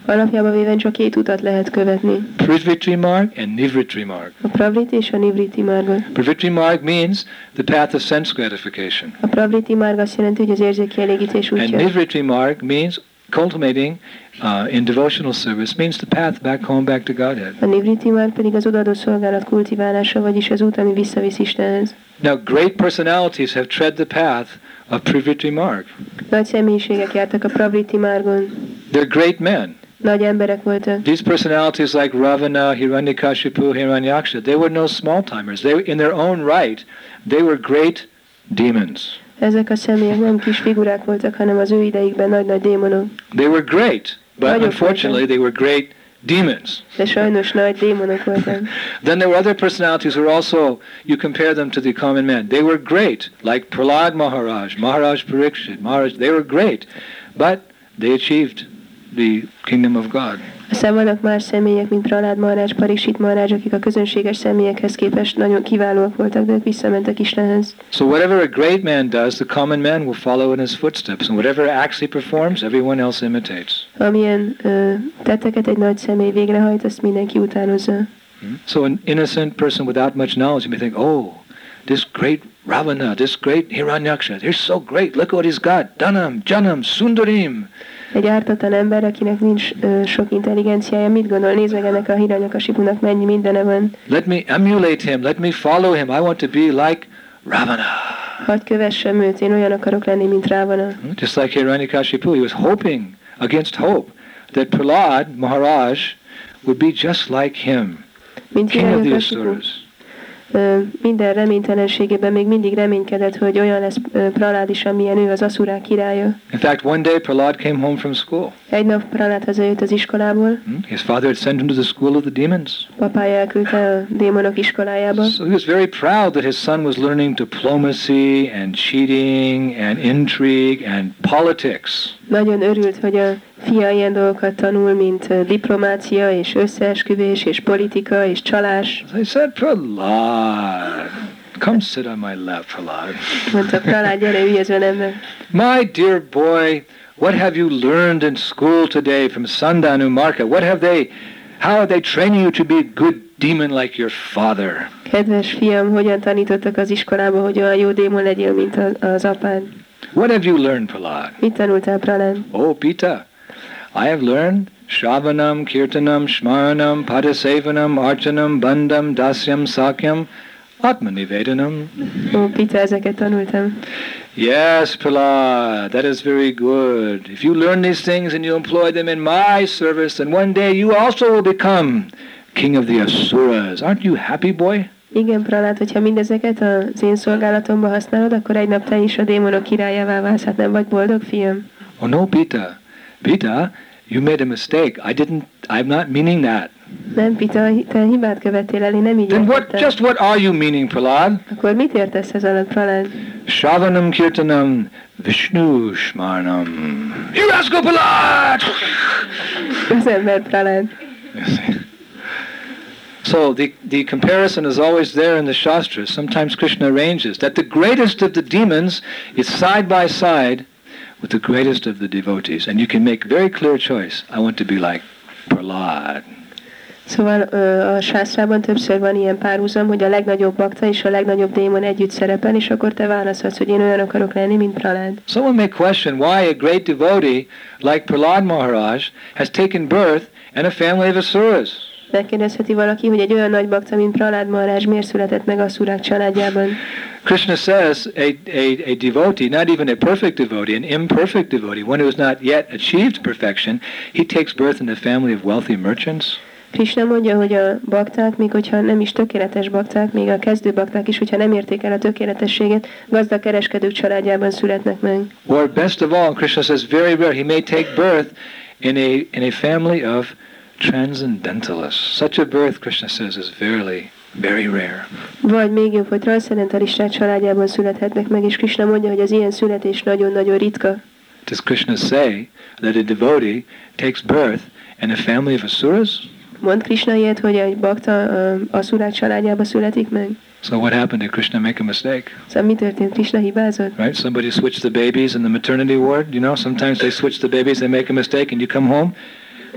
Alapjában véve csak két utat lehet követni. Privritri marg and nivritri marg. A pravriti és a nivriti margot. Privritri marg means the path of sense gratification. A pravriti marg azt jelenti, hogy az érzéki elégítés And útja. nivritri marg means cultivating uh, in devotional service, means the path back home, back to Godhead. A nivriti marg pedig az odaadó szolgálat kultiválása, vagyis az út, ami visszavisz Istenhez. Now, great personalities have tread the path of Privritri marg. Nagy személyiségek jártak a pravriti margon. They're great men. Nagy emberek voltak. These personalities like Ravana, Hiranyakashipu, Hiranyaksha, they were no small-timers. They, in their own right, they were great demons. Ezek a személyek nem kis figurák voltak, hanem az ő idejükben nagy-nagy démonok. They were great, but Nagyok unfortunately they were great demons. De sajnos nagy démonok voltak. Then there were other personalities who were also, you compare them to the common men. They were great, like Prahlad Maharaj, Maharaj Parikshit, Maharaj, they were great, but they achieved the kingdom of God. Aztán vannak más személyek, mint Prahlad Maharaj, Parikshit Maharaj, akik a közönséges személyekhez képest nagyon kiválóak voltak, de ők visszamentek Istenhez. So whatever a great man does, the common man will follow in his footsteps, and whatever acts he performs, everyone else imitates. Amilyen ö, tetteket egy nagy személy végrehajt, azt mindenki utánozza. So an innocent person without much knowledge, you may think, oh, this great Ravana, this great Hiranyaksha, they're so great, look what he's got, Dhanam, Janam, Sundarim. Egy ártatlan ember, akinek nincs ö, sok intelligenciája, mit gondol? Nézd meg, ennek a Hiranyakasipunak mennyi mindene van. Let me emulate him, let me follow him, I want to be like Ravana. Hadd kövessem őt, én olyan akarok lenni, mint Rávana. Just like Hiranyakashipu, he was hoping against hope that Prahlad Maharaj would be just like him, Mint king of the Hiranyakasipu. Asuras. Ö, minden reménytelenségében még mindig reménykedett, hogy olyan lesz ö, Prahlad is, amilyen ő, az aszurák királya. In fact, one day Prahlad came home from school. Egy nap Prahlad hazajött az iskolából, His father had sent him to the school of the demons. papája elküldte a démonok iskolájába. So he was very proud that his son was learning diplomacy and cheating and intrigue and politics. Nagyon örült, hogy a fia ilyen dolgokat tanul, mint ö, diplomácia és összeesküvés és politika és csalás. So I said, Prahlad, come sit on my lap, Prahlad. Mondta, Prahlad, gyere, ülj az önembe. My dear boy, what have you learned in school today from Sandanu Marka? What have they, how are they training you to be a good demon like your father? Kedves fiam, hogyan tanítottak az iskolába, hogy olyan jó démon legyél, mint az, az apád? What have you learned, Prahlad? Mit tanultál, Prahlad? Oh, Pita, I have learned Shravanam, Kirtanam, Shmaranam, Padasevanam, Archanam, Bandam, Dasyam, Sakyam, Atmanivedanam. Ó, Pita, ezeket tanultam. Yes, Prahlad, that is very good. If you learn these things and you employ them in my service, then one day you also will become king of the Asuras. Aren't you happy, boy? Igen, Prahlad, hogyha mindezeket az én szolgálatomba használod, akkor egy nap te is a démonok királyává válsz. Hát nem vagy boldog, fiam? Oh no, Pita. Pita, you made a mistake. I didn't, I'm not meaning that. Nem, Pita, te hibát követtél el, én nem így Then what, értettem. just what are you meaning, Prahlad? Akkor mit értesz ez alatt, Prahlad? Shravanam, Kirtanam, Vishnu, Shmarnam. You rascal, Prahlad! Az ember, Prahlad. So the, the comparison is always there in the Shastras. Sometimes Krishna arranges that the greatest of the demons is side by side with the greatest of the devotees. And you can make very clear choice. I want to be like Prahlad. Szóval ö, a sásztrában többször van ilyen párhuzam, hogy a legnagyobb bakta és a legnagyobb démon együtt szerepel, és akkor te választhatsz, hogy én olyan akarok lenni, mint Prahlad. Someone may question why a great devotee like Prahlad Maharaj has taken birth in a family of asuras. Megkérdezheti valaki, hogy egy olyan nagy bakta, mint Prahlad Maharaj miért született meg asszurák családjában. Krishna says a, a, a devotee, not even a perfect devotee, an imperfect devotee, one who has not yet achieved perfection, he takes birth in a family of wealthy merchants. Krishna mondja, hogy a bakták, még hogyha nem is tökéletes bakták, még a kezdő bakták is, hogyha nem érték el a tökéletességet, gazdag kereskedők családjában születnek meg. Or best of all, Krishna says very rare, he may take birth in a, in a family of transcendentalists. Such a birth, Krishna says, is very, very rare. Vagy még jobb, hogy transzcendentalisták családjában születhetnek meg, és Krishna mondja, hogy az ilyen születés nagyon-nagyon ritka. Does Krishna say that a devotee takes birth in a family of asuras? Mond Krishna ilyet, hogy egy bakta uh, asszurák családjába születik meg? So what happened? Did Krishna make a mistake? Szóval mi történt? Krishna hibázott? Right? Somebody switched the babies in the maternity ward. You know, sometimes they switch the babies, they make a mistake, and you come home.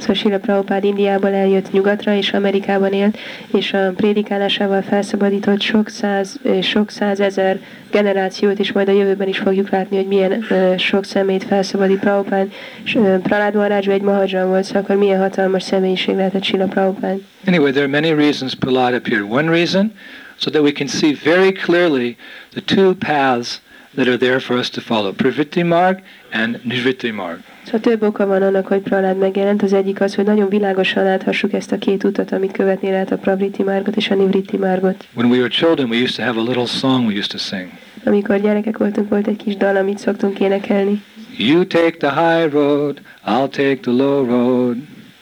Szóval Srila Prabhupád Indiából eljött nyugatra, és Amerikában élt, és a prédikálásával felszabadított sok száz, sok százezer generációt, és majd a jövőben is fogjuk látni, hogy milyen uh, sok személyt felszabadít Prabhupád. És uh, Prahlad Maharaj egy mahadzsan volt, szóval akkor milyen hatalmas személyiség lehetett Srila Prabhupád. Anyway, there are many reasons Prahlad appeared. One reason, so that we can see very clearly the two paths that are there for us to follow, Pravritti Marg and Nivritti Marg. Szóval több oka van annak, hogy Prahlad megjelent. Az egyik az, hogy nagyon világosan láthassuk ezt a két utat, amit követni lehet, a Pravritti Margot és a Nivritti Margot. When we were children, we used to have a little song we used to sing. Amikor gyerekek voltunk, volt egy kis dal, amit szoktunk énekelni. You take the high road, I'll take the low road.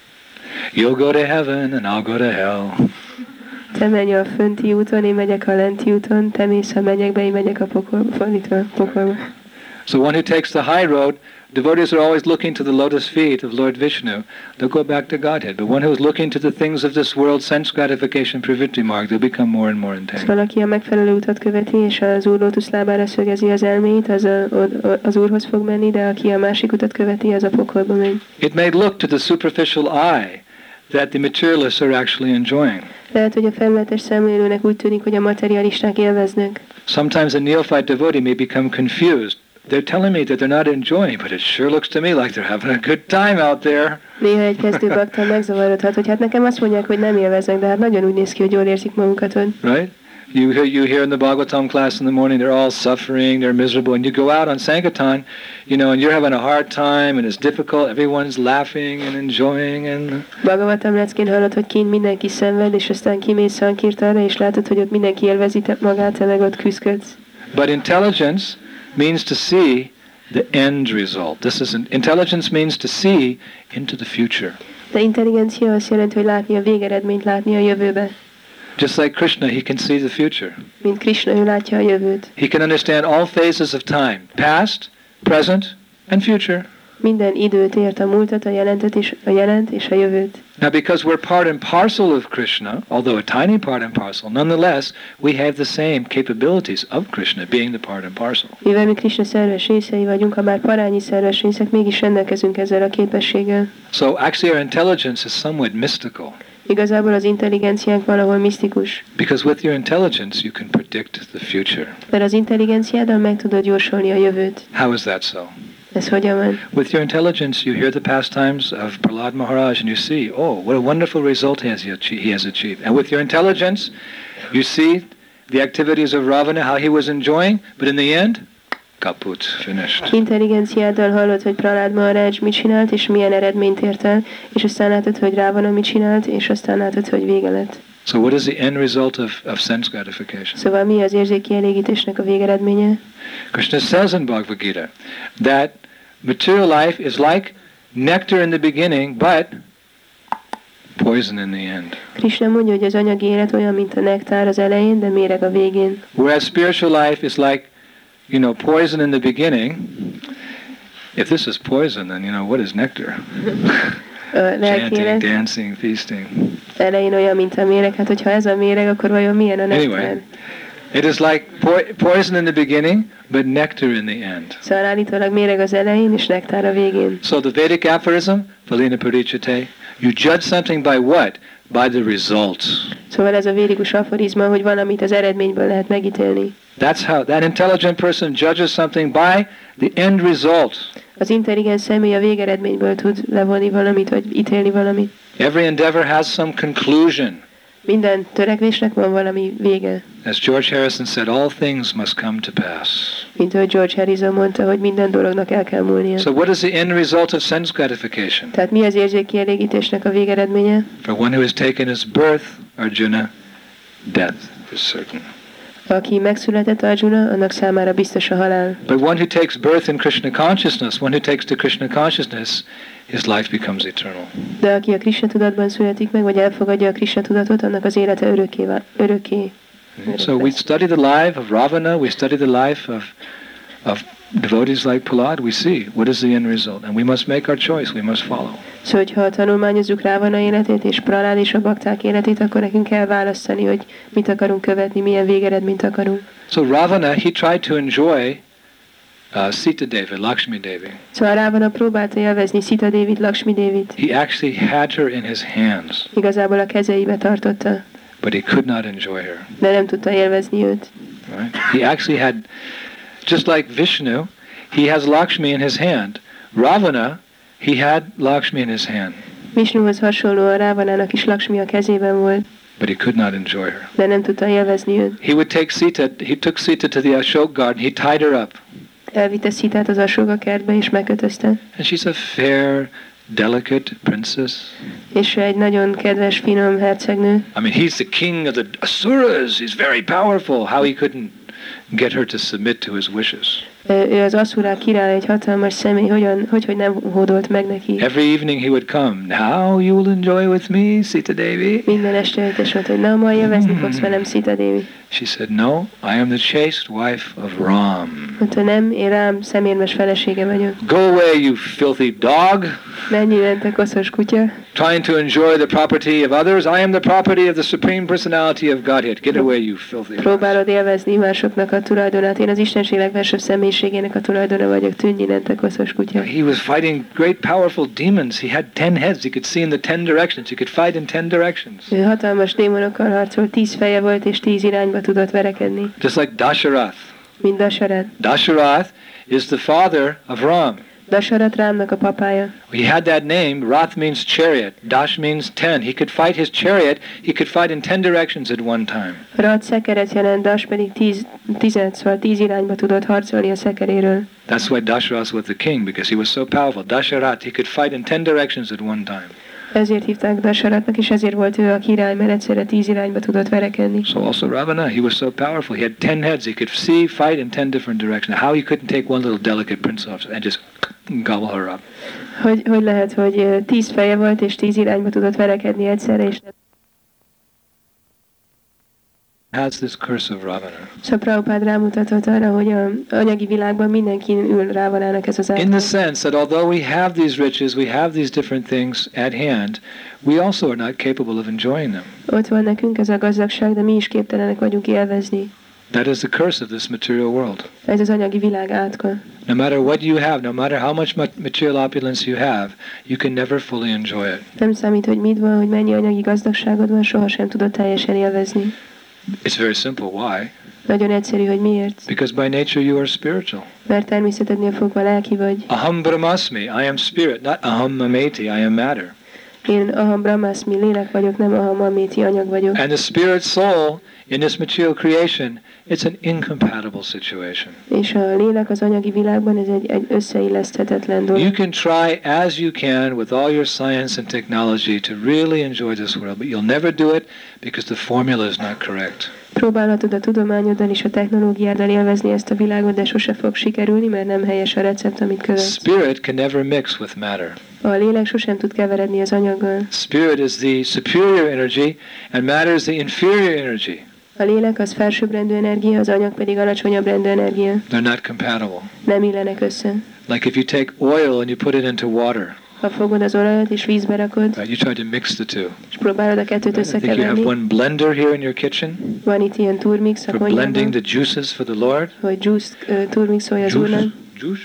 You'll go to heaven and I'll go to hell. Te menj a fönti úton, én megyek a lenti úton, te mész a mennyekbe, én megyek a pokolba, fordítva, pokolba. So one who takes the high road, devotees are always looking to the lotus feet of Lord Vishnu. They'll go back to Godhead. But one who is looking to the things of this world, sense gratification, pravritti marg, they'll become more and more entangled. Szóval aki a megfelelő utat követi, és az Úr lótuszlábára szögezi az elméit, az a, az Úrhoz fog menni, de aki a másik utat követi, az a pokolba megy. It may look to the superficial eye that the materialists are actually enjoying. Lehet, hogy a felületes szemlélőnek úgy tűnik, hogy a materialisták élveznek. Sometimes a neophyte devotee may become confused. They're telling me that they're not enjoying, but it sure looks to me like they're having a good time out there. Néha egy kezdő bakta megzavarodhat, hogy hát nekem azt mondják, hogy nem élveznek, de hát nagyon úgy néz ki, hogy jól érzik magukat ott. Right? You hear, you hear in the Bhagavatam class in the morning, they're all suffering, they're miserable, and you go out on Sankirtan, you know, and you're having a hard time, and it's difficult, everyone's laughing and enjoying, and... Bhagavatam leckén hallod, hogy kint mindenki szenved, és aztán kimész Sankirtanra, és látod, hogy ott mindenki élvezi magát, te meg ott küzdködsz. But intelligence means to see the end result. This is an, intelligence means to see into the future. De intelligencia azt jelenti, hogy látni a végeredményt, látni a jövőbe. Just like Krishna, he can see the future. Mint Krishna, ő látja a jövőt. He can understand all phases of time, past, present, and future. Minden időt ért, a múltat, a jelentet és a jelent és a jövőt. Now, because we're part and parcel of Krishna, although a tiny part and parcel, nonetheless, we have the same capabilities of Krishna, being the part and parcel. Mivel mi Krishna szerves részei vagyunk, ha már parányi szerves részek, mégis rendelkezünk ezzel a képességgel. So actually our intelligence is somewhat mystical. Igazából az intelligenciánk valahol misztikus. Because with your intelligence you can predict the future. Mert az intelligenciáddal meg tudod jósolni a jövőt. How is that so? Ez hogyan van? With your intelligence, you hear the pastimes of Prahlad Maharaj and you see, oh, what a wonderful result he has, he has achieved. And with your intelligence, you see the activities of Ravana, how he was enjoying, but in the end, kaput, finished. Intelligenciáddal hallod, hogy Prahlad Maharaj mit csinált, és milyen eredményt ért el, és aztán látod, hogy Ravana mit csinált, és aztán látod, hogy vége lett. So what is the end result of, of sense gratification? Szóval mi az érzéki elégítésnek a végeredménye? Krishna says in Bhagavad Gita that material life is like nectar in the beginning, but poison in the end. Krishna mondja, hogy az anyagi élet olyan, mint a nektár az elején, de méreg a végén. Whereas spiritual life is like, you know, poison in the beginning. If this is poison, then, you know, what is nectar? Chanting, dancing, feasting. Elején olyan, mint a méreg. Hát, hogyha ez a méreg, akkor vajon milyen a nektár? Anyway, it is like po- poison in the beginning, but nectar in the end. Szóval állítólag méreg az elején, és nektár a végén. So the Vedic aphorism, Phalina Parichate, you judge something by what? By the results. Szóval ez a védikus aforizma, hogy valamit az eredményből lehet megítélni. That's how that intelligent person judges something by the end result. Az intelligens személy a végeredményből tud levonni valamit, vagy ítélni valamit. Every endeavor has some conclusion. Minden törekvésnek van valami vége. As George Harrison said, all things must come to pass. Mint ahogy George Harrison mondta, hogy minden dolognak el kell múlnia. So what is the end result of sense gratification? Tehát mi az érzéki elégítésnek a végeredménye? For one who has taken his birth, Arjuna, death is certain. Aki megszületett Arjuna, annak számára biztos a halál. But one who takes birth in Krishna consciousness, one who takes to Krishna consciousness, his life becomes eternal. De aki a Krishna tudatban születik meg, vagy elfogadja a Krishna tudatot, annak az élete örökké. örökké. So we study the life of Ravana, we study the life of of devotees like Prahlad, we see what is the end result, and we must make our choice, we must follow. Szóval, ha tanulmányozzuk Ravana életét és Prahlad és a bakták életét, akkor nekünk kell választani, hogy mit akarunk követni, milyen végeredményt akarunk. So Ravana, he tried to enjoy uh, Sita Devi, Lakshmi Devi. Szóval Rávana próbálta élvezni Sita Devit, Lakshmi Devit. He actually had her in his hands, Igazából a kezeibe tartotta, but he could not enjoy her. de nem tudta élvezni őt. Right? He actually had, just like Vishnu, he has Lakshmi in his hand. Ravana, he had Lakshmi in his hand, Vishnuhoz hasonlóan Rávanának is Lakshmi a kezében volt, but he could not enjoy her. de nem tudta élvezni őt. He would take Sita, he took Sita to the Ashok garden, he tied her up. Elvitte Szitát az Asóga kertbe és megkötözte. And she's a fair, delicate princess. És ő egy nagyon kedves, finom hercegnő. I mean, he's the king of the Asuras. He's very powerful. How he couldn't get her to submit to his wishes. Ő az Aszurák király, egy hatalmas személy, hogyan, hogy, hogy nem hódolt meg neki. Every evening he would come. Now you will enjoy with me, Sita Devi. Minden este jött és mondta, hogy na, ma élvezni fogsz velem, Sita Devi. She said, no, I am the chaste wife of Ram. Mondta, nem, én Rám szemérmes felesége vagyok. Go away, you filthy dog. Menj innen, te koszos kutya. Trying to enjoy the property of others. I am the property of the Supreme Personality of Godhead. Get away, you filthy dog. Próbálod élvezni másoknak a tulajdonát. Én az Istenség legfelsőbb személyiségének a tulajdona vagyok. Tűnj innen, te koszos kutya. He was fighting great powerful demons. He had ten heads. He could see in the ten directions. He could fight in ten directions. Ő hatalmas démonokkal harcolt, tíz feje volt és tíz irányba tudott verekedni. Just like Dasharath. Mint Dasarat. Dasharath is the father of Ram. Dasarat Rámnak a papája. He had that name. Rath means chariot. Dash means ten. He could fight his chariot. He could fight in ten directions at one time. Rat szekeret jelent, Das pedig tíz, tized, szóval tíz irányba tudott harcolni a szekeréről. That's why Dasharath was the king, because he was so powerful. Dasharath, he could fight in ten directions at one time. Ezért hívták Dasaratnak, és ezért volt ő a király, mert egyszerre tíz irányba tudott verekedni. So also Ravana, he was so powerful. He had ten heads. He could see, fight in ten different directions. How he couldn't take one little delicate prince off and just gobble her up. Hogy, hogy lehet, hogy ö, tíz feje volt, és tíz irányba tudott verekedni egyszerre, és nem. Has this curse of Ravana. Szóval Prabhupád rámutatott arra, hogy a anyagi világban mindenki ül Rávanának ez az In the által. sense that although we have these riches, we have these different things at hand, we also are not capable of enjoying them. Ott van nekünk ez a gazdagság, de mi is képtelenek vagyunk élvezni. That is the curse of this material world. Ez az anyagi világ átka. No matter what you have, no matter how much ma- material opulence you have, you can never fully enjoy it. Nem számít, hogy mit van, hogy mennyi anyagi gazdagságod van, sohasem tudod teljesen élvezni. It's very simple. Why? Nagyon egyszerű, hogy miért. Because by nature you are spiritual. Mert természetednél fogva lelki vagy. Aham brahmasmi, I am spirit, not aham mameti, I am matter. Én aham brahmasmi lélek vagyok, nem aham améti anyag vagyok. And the spirit soul in this material creation, it's an incompatible situation. És a lélek az anyagi világban ez egy, egy összeilleszthetetlen dolog. You can try as you can with all your science and technology to really enjoy this world, but you'll never do it because the formula is not correct. Próbálhatod a tudományoddal és a technológiáddal élvezni ezt a világot, de sose fog sikerülni, mert nem helyes a recept, amit követsz. Spirit can never mix with matter. A lélek sosem tud keveredni az anyaggal. Spirit is the superior energy and matter is the inferior energy. A lélek az felsőbbrendű energia, az anyag pedig alacsonyabb rendű energia. They're not compatible. Nem illenek össze. Like if you take oil and you put it into water, Ha fogod az olajat és vízbe rakod, right, you try to mix the two. és próbálod a kettőt I think you have összekeverni, one blender here in your kitchen van itt ilyen turmix a for blending konyhában, the juices for the Lord. hogy juice uh, turmixolja az Juice, úrnak. juice,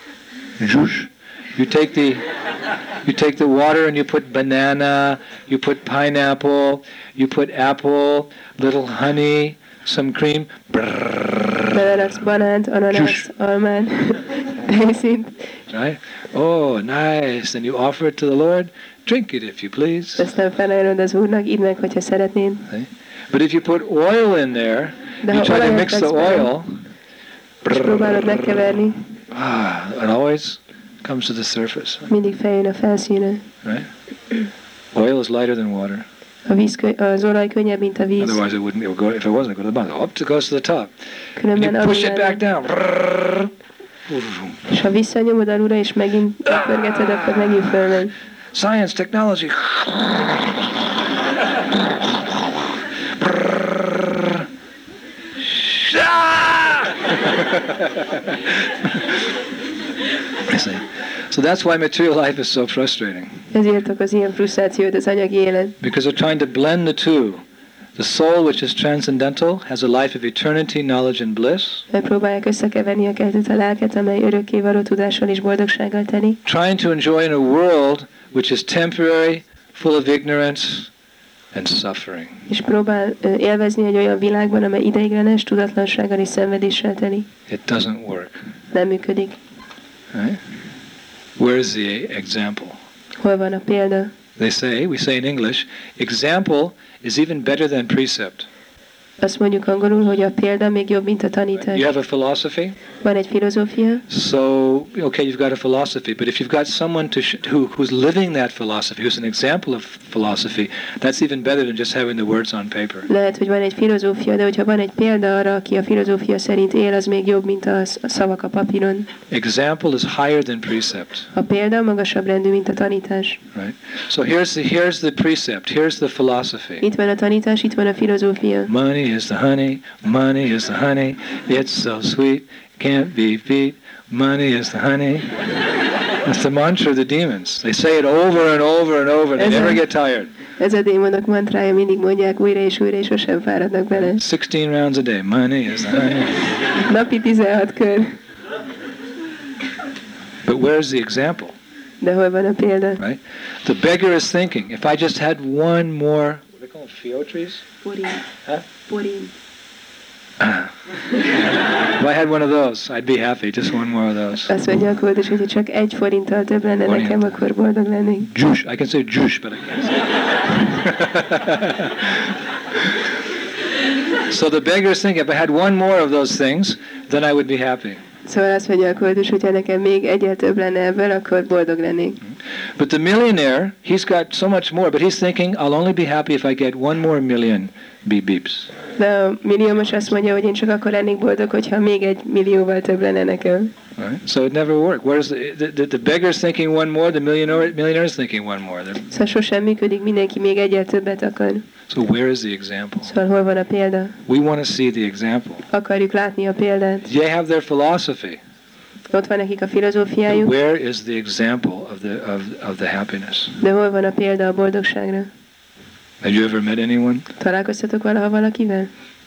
juice. You take the you take the water and you put banana, you put pineapple, you put apple, little honey, some cream. Beleraksz banánt, ananász, Juice. almát, tejszint, Right? Oh, nice. And you offer it to the Lord. Drink it if you please. aztán felajánlod az úrnak, idd meg, hogyha szeretnéd. See? But if you put oil in there, De you ha try to olajat mix the tesz bele, oil, és próbálod megkeverni, ah, it always comes to the surface. mindig feljön a felszíne. Right? Oil is lighter than water. A víz, kö- az olaj könnyebb, mint a víz. Otherwise, it wouldn't. It would go. If it wasn't, it would go to the bottom. Up it goes to the top. Különben You push it alul back lenne. down. És ha visszanyomod alulra, és megint pörgeted, akkor megint fölmegy. Science, technology. I see. So that's why material life is so frustrating. Ezért okoz ilyen frusztrációt az anyagi élet. Because they're trying to blend the two. The soul, which is transcendental, has a life of eternity, knowledge and bliss. Próbálják összekeverni a kettőt, a lelket, amely örökkévaló tudással és boldogsággal teli. Trying to enjoy in a world which is temporary, full of ignorance and suffering. És próbál élvezni egy olyan világban, amely ideiglenes, tudatlansággal és szenvedéssel teli. It doesn't work. Nem működik. Right? Where's the example? Hol van a példa? They say, we say in English, example is even better than precept. Azt mondjuk angolul, hogy a példa még jobb, mint a tanítás. You have a philosophy? Van egy filozófia. So, okay, you've got a philosophy, but if you've got someone to sh- who who's living that philosophy, who's an example of philosophy, that's even better than just having the words on paper. Lehet, hogy van egy filozófia, de hogyha van egy példa arra, aki a filozófia szerint él, az még jobb, mint a, a szavak a papíron. Example is higher than precept. A példa magasabb rendű, mint a tanítás. Right. So here's the here's the precept. Here's the philosophy. Itt van a tanítás, itt van a filozófia. Money is the honey. Money is the honey. It's so sweet. Can't be beat. Money is the honey. That's the mantra of the demons. They say it over and over and over. They never get tired. Ez a démonok mantrája, mindig mondják újra és újra, és sosem fáradnak bele. sixteen rounds a day. Money is the honey. Napi tizenhat kör. But where's the example? De hol van a példa? Right? The beggar is thinking, if I just had one more, what do they call them, feotries? Forint. Huh? Forint. If I had one of those, I'd be happy. Just one more of those. Azt mondja a kódus, hogy csak egy forinttal több lenne Forint. nekem, akkor boldog lennék. Juice. I can say juice, but I can't say So the beggar is thinking, if I had one more of those things, then I would be happy. Szóval azt mondja a kódus, hogyha nekem még egyel több lenne ebből, akkor boldog lennék. But the millionaire, he's got so much more, but he's thinking, I'll only be happy if I get one more million beep beeps. De a milliómos azt mondja, hogy én csak akkor lennék boldog, hogyha még egy millióval több lenne nekem. Right? So it never worked. Whereas the, the, the beggar's thinking one more, the millionaire millionaire's thinking one more. They're, Szóval sosem működik, mindenki még egyel többet akar. so where is the example? Szóval hol van a példa? We want to see the example. Akarjuk látni a példát. They have their philosophy. Ott van nekik a But filozófiájuk, where is the example of the of, of the happiness? de hol van a példa a boldogságra? Have you ever met anyone? Találkoztatok valaha valakivel?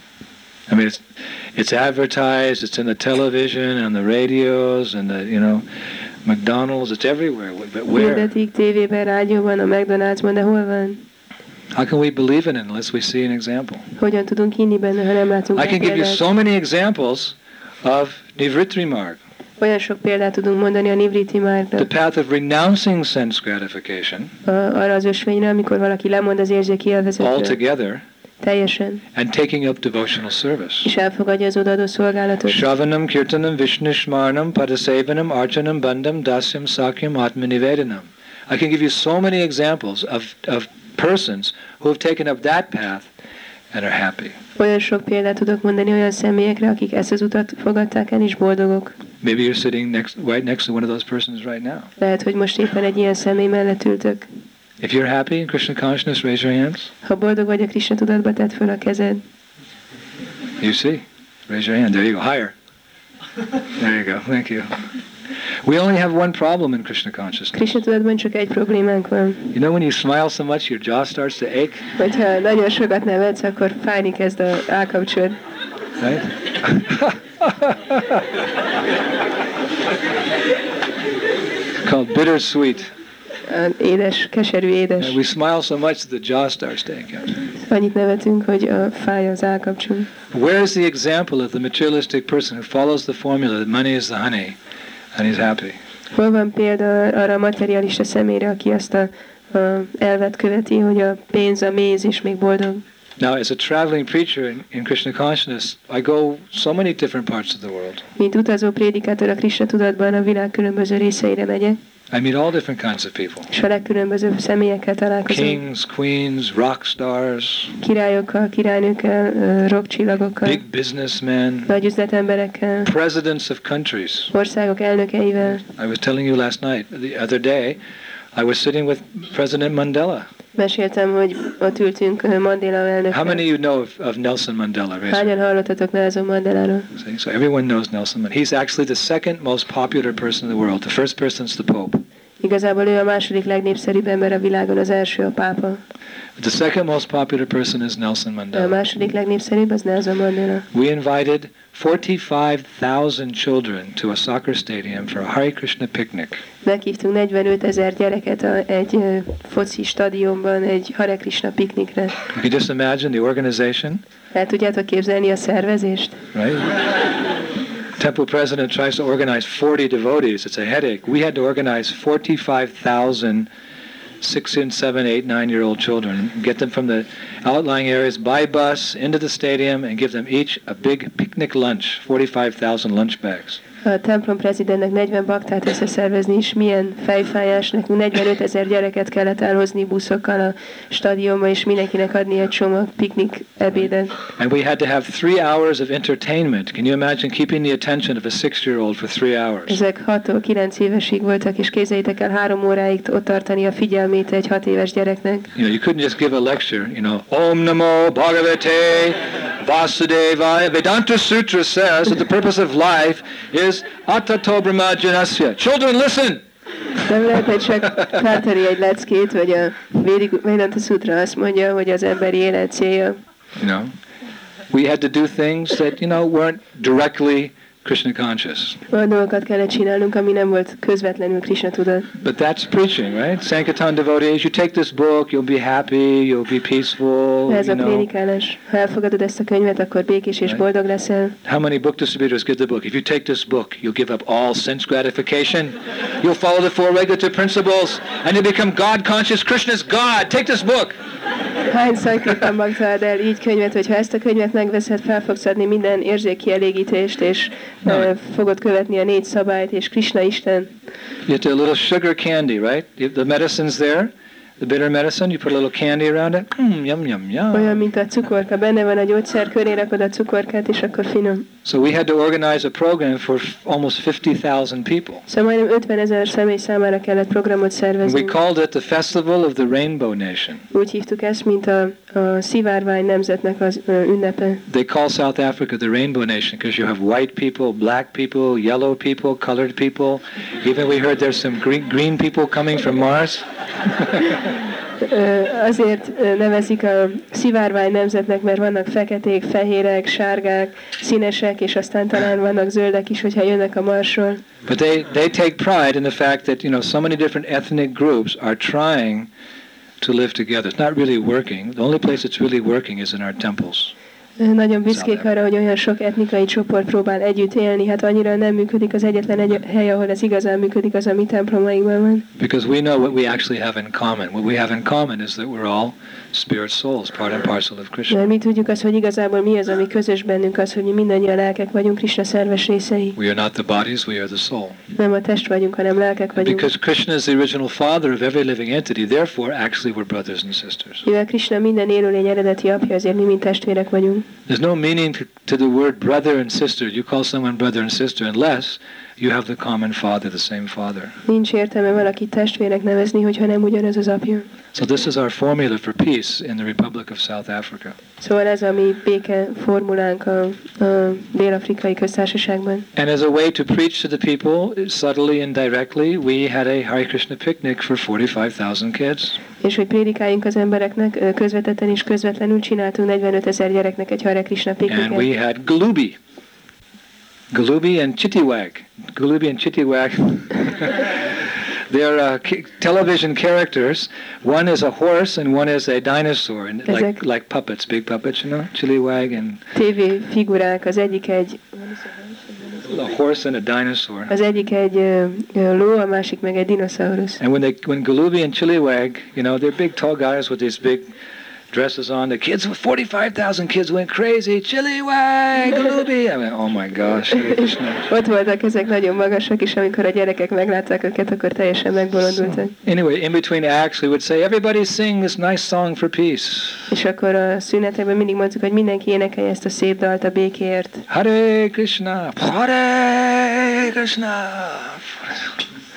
I mean, it's it's advertised. It's in the television and the radios and the you know, McDonald's. It's everywhere. But where? Hirdetik tévében, rádióban, a McDonald'sban, de hol van? How can we believe in it unless we see an example? Hogyan tudunk hinni benne, ha nem látunk I rá can give you példát? so many examples of Nivritri Marg, Olyan sok példát tudunk mondani a Nivriti Márkra. the path of renouncing sense gratification Arra az ösvényre, amikor valaki lemond az érzéki élvezetről. altogether Teljesen. and taking up devotional service. És elfogadja az odaadó szolgálatot. Shravanam, Kirtanam, Vishnishmarnam, Padasevanam, Archanam, Bandam, Dasyam, Sakyam, Atmanivedanam. I can give you so many examples of, of persons who have taken up that path and are happy. Olyan sok példát tudok mondani olyan személyekre, akik ezt az utat fogadták el, és boldogok. Maybe you're sitting next, right next to one of those persons right now. Lehet, hogy most éppen egy ilyen személy mellett ültök. If you're happy in Krishna consciousness, raise your hands. Ha boldog vagy a Krishna tudatba, tedd föl a kezed. You see? Raise your hand. There you go. Higher. There you go. Thank you. We only have one problem in Krishna consciousness. Krishna tudatban csak egy problémánk van. You know when you smile so much your jaw starts to ache? Hogyha nagyon sokat nevetsz, akkor fájni kezd a állkapcsod. Right? Called bittersweet. Édes, keserű édes. And we smile so much that the jaw starts to ache. Annyit nevetünk, hogy a fáj az állkapcsunk. Where is the example of the materialistic person who follows the formula that money is the honey and he's happy? Hol van példa arra a materialista személyre, aki azt a, a elvet követi, hogy a pénz a méz és még boldog? Now, as a traveling preacher in, in Krishna consciousness, I go so many different parts of the world. Mint utazó prédikátor a Krishna tudatban a világ különböző részeire megyek, I meet all different kinds of people. és a legkülönbözőbb személyekkel találkozom. Kings, queens, rock stars, Királyokkal, királynőkkel, ö, rockcsillagokkal, big businessmen, nagy üzletemberekkel, presidents of countries. országok elnökeivel. I was telling you last night, the other day, I was sitting with President Mandela. Meséltem, hogy ott ültünk ö, Mandela How elnökkel. many of you know of, of Nelson Mandela? Raise your- Hányan hallottatok Nelson Mandeláról? See, so everyone knows Nelson Mandela. He's actually the second most popular person in the world. The first person's the Pope. Igazából ő a második legnépszerűbb ember a világon, az első a pápa. The second most popular person is Nelson A Mandela. második legnépszerűbb az Nelson Mandela. We invited forty-five thousand children to a soccer stadium for a Hare Krishna picnic. Meghívtunk negyvenöt ezer gyereket a, egy uh, foci stadionban egy Hare Krishna piknikre. You can just imagine the organization, El tudjátok képzelni a szervezést? right? Temple president tries to organize forty devotees. It's a headache. We had to organize forty-five thousand six and seven, eight, nine-year-old children, get them from the outlying areas by bus into the stadium and give them each a big picnic lunch, forty-five thousand lunch bags. A templom prezidentnek negyven baktát összeszervezni is milyen fejfájás, nekünk negyvenöt ezer gyereket kellett elhozni buszokkal a stadionba, és mindenkinek adni egy csomag piknik ebédet. And we had to have three hours of entertainment. Can you imagine keeping the attention of a six-year-old for three hours? Ezek hattól kilenc évesig voltak, és képzeljétek el három óráig ott tartani a figyelmét egy hat éves gyereknek. You know, you couldn't just give a lecture, you know, Om Namo Bhagavate Vasudevaya. Vedanta Sutra says that the purpose of life is Atato Brahma Janasya. Children, listen! Nem lehet csak tartani egy leckét, vagy a Vedanta Sutra azt mondja, hogy az emberi élet célja. You know, we had to do things that, you know, weren't directly Krishna conscious. Olyan dolgokat kellett csinálnunk, ami nem volt közvetlenül Krishna tudat. But that's preaching, right? Sankirtan devotees, you take this book, you'll be happy, you'll be peaceful, Ez you a know. prédikálás. Ha elfogadod ezt a könyvet, akkor békés és boldog leszel. How many book distributors give the book? If you take this book, you'll give up all sense gratification. You'll follow the four regulative principles, and you'll become God-conscious. Krishna's God. Take this book. Hány szajképpen magtad el így könyvet, hogy ha ezt a könyvet megveszed, fel fogsz adni minden érzékkielégítést, és No. uh, fogod követni a négy szabályt, és Krishna Isten. You get a little sugar candy, right? You- The medicine's there, the bitter medicine. You put a little candy around it. Mm, yum, yum, Olyan, yum. mint a cukorka. Benne van a gyógyszer, köré rakod a cukorkát, és akkor finom. So we had to organize a program for f- almost fifty thousand people. Szóval majdnem ötven ezer személy számára kellett programot And szervezni. we called it the Festival of the Rainbow Nation. Úgy hívtuk ezt, mint a, a szivárvány nemzetnek az ö, ünnepe. They call South Africa the Rainbow Nation because you have white people, black people, yellow people, colored people. Even we heard there's some green, green people coming from Mars. Ö, azért ö, nevezik a szivárvány nemzetnek, mert vannak feketék, fehérek, sárgák, színesek, és aztán talán vannak zöldek is, hogyha jönnek a Marsról. But they, they take pride in the fact that, you know, so many different ethnic groups are trying to live together. It's not really working. The only place it's really working is in our temples. Ö, Nagyon büszkék arra, hogy olyan sok etnikai csoport próbál együtt élni, hát annyira nem működik az egyetlen egy hely, ahol ez igazán működik, az a mi templomainkban van. Because we know what we actually have in common. What we have in common is that we're all spirit souls, part and parcel of Krishna. Mert mi tudjuk azt, hogy igazából mi az, ami közös bennünk, az, hogy mi mindannyian lelkek vagyunk, Krishna szerves részei. We are not the bodies, we are the soul. Nem a test vagyunk, hanem lelkek And vagyunk. because Krishna is the original father of every living entity, therefore actually we're brothers and sisters. Mivel Krishna minden élőlény eredeti apja, azért mi mind testvérek vagyunk. There's no meaning to, to the word brother and sister. You call someone brother and sister unless you have the common father, the same father. Nincs értelme valakit testvérnek nevezni, hogyha nem ugyanaz az apja. So this is our formula for peace in the Republic of South Africa. Szóval ez a mi béke formulánk a, a Dél-Afrikai Köztársaságban. And as a way to preach to the people, subtly and directly, we had a Hare Krishna picnic for forty-five thousand kids. És hogy prédikáljunk az embereknek, ö, közvetetten és közvetlenül csináltunk negyvenöt ezer gyereknek egy Hare Krishna And we pikniket. had Galubi. Galubi and Chittiwag. Galubi and Chittiwag. They're uh, ki- television characters. One is a horse and one is a dinosaur, and like Ezek- like puppets, big puppets, you know, Chilliwag and té vé figurák, az egyik egy, a horse and a dinosaur. az egyik egy ö, ö, ló, a másik meg egy dinoszaurusz. And when they when Galubi and Chilliwag, you know, they're big tall guys with these big dresses on. The kids, forty-five thousand kids went crazy. Chilliwag, Galubi. I mean, oh my gosh. Hare Krishna. Ott voltak ezek nagyon magasak, és amikor a gyerekek meglátták őket, akkor teljesen megbolondultak. Anyway, in between acts, we would say, everybody sing this nice song for peace. És akkor a szünetekben mindig mondtuk, hogy mindenki énekelje ezt a szép dalt a békéért. Hare Krishna, Hare Krishna.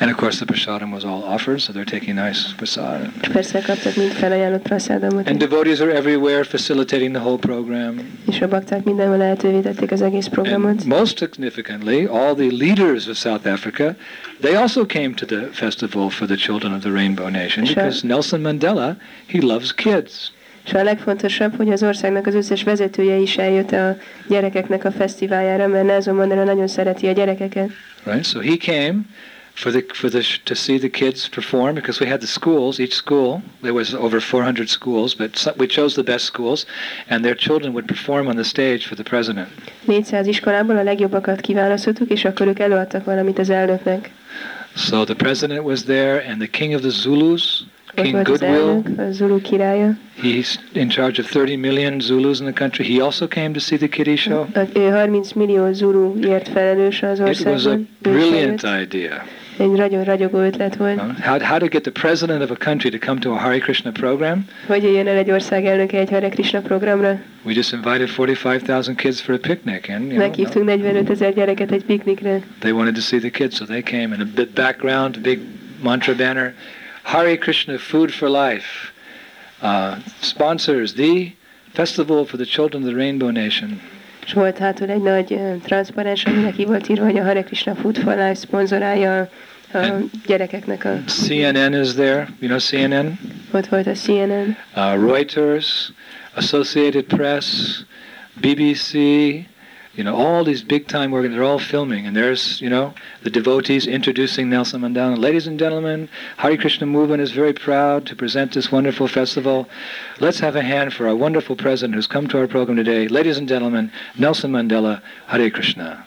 And of course the prasadam was all offered, so they're taking nice prasad. És persze kaptak mind felajánlott prasadamot. And devotees are everywhere facilitating the whole program. És a bakták mindenhol lehetővé tették az egész programot. And most significantly, all the leaders of South Africa, they also came to the festival for the children of the Rainbow Nation, because Nelson Mandela, he loves kids. És a legfontosabb, hogy az országnak az összes vezetője is eljött a gyerekeknek a fesztiváljára, mert Nelson Mandela nagyon szereti a gyerekeket. Right, so he came for the for the to see the kids perform, because we had the schools, each school there was over four hundred schools, but so, we chose the best schools, and their children would perform on the stage for the president. négyszáz iskolából a legjobbakat kiválasztottuk, és akkor ők előadtak valamit az elnöknek. So the president was there, and the king of the Zulus, Ott King volt az Goodwill, elnök, a Zulu királya. he's in charge of thirty million Zulus in the country. He also came to see the kiddie show. Ő harminc millió Zuluért felelős az It was a országban. brilliant idea. Egy nagyon ragyogó ötlet volt. How, how to get the president of a country to come to a Hare Krishna program? Hogy jöjjön el egy ország elnöke egy Hare Krishna programra? We just invited forty-five thousand kids for a picnic, and you know, Meghívtunk negyvenöt ezer gyereket egy piknikre. they wanted to see the kids, so they came. And a bit background, big mantra banner, Hare Krishna, food for life. Uh, sponsors, the festival for the children of the Rainbow Nation. És volt hátul egy nagy uh, transzparens, aminek ki volt írva, hogy a Hare Krishna Food for Life szponzorálja a gyerekeknek a... C N N is there, you know C N N? Ott volt a C N N, Uh, Reuters, Associated Press, B B C, you know, all these big time organs, they're all filming, and there's, you know, the devotees introducing Nelson Mandela. Ladies and gentlemen, Hare Krishna movement is very proud to present this wonderful festival. Let's have a hand for our wonderful president who's come to our program today. Ladies and gentlemen, Nelson Mandela, Hare Krishna.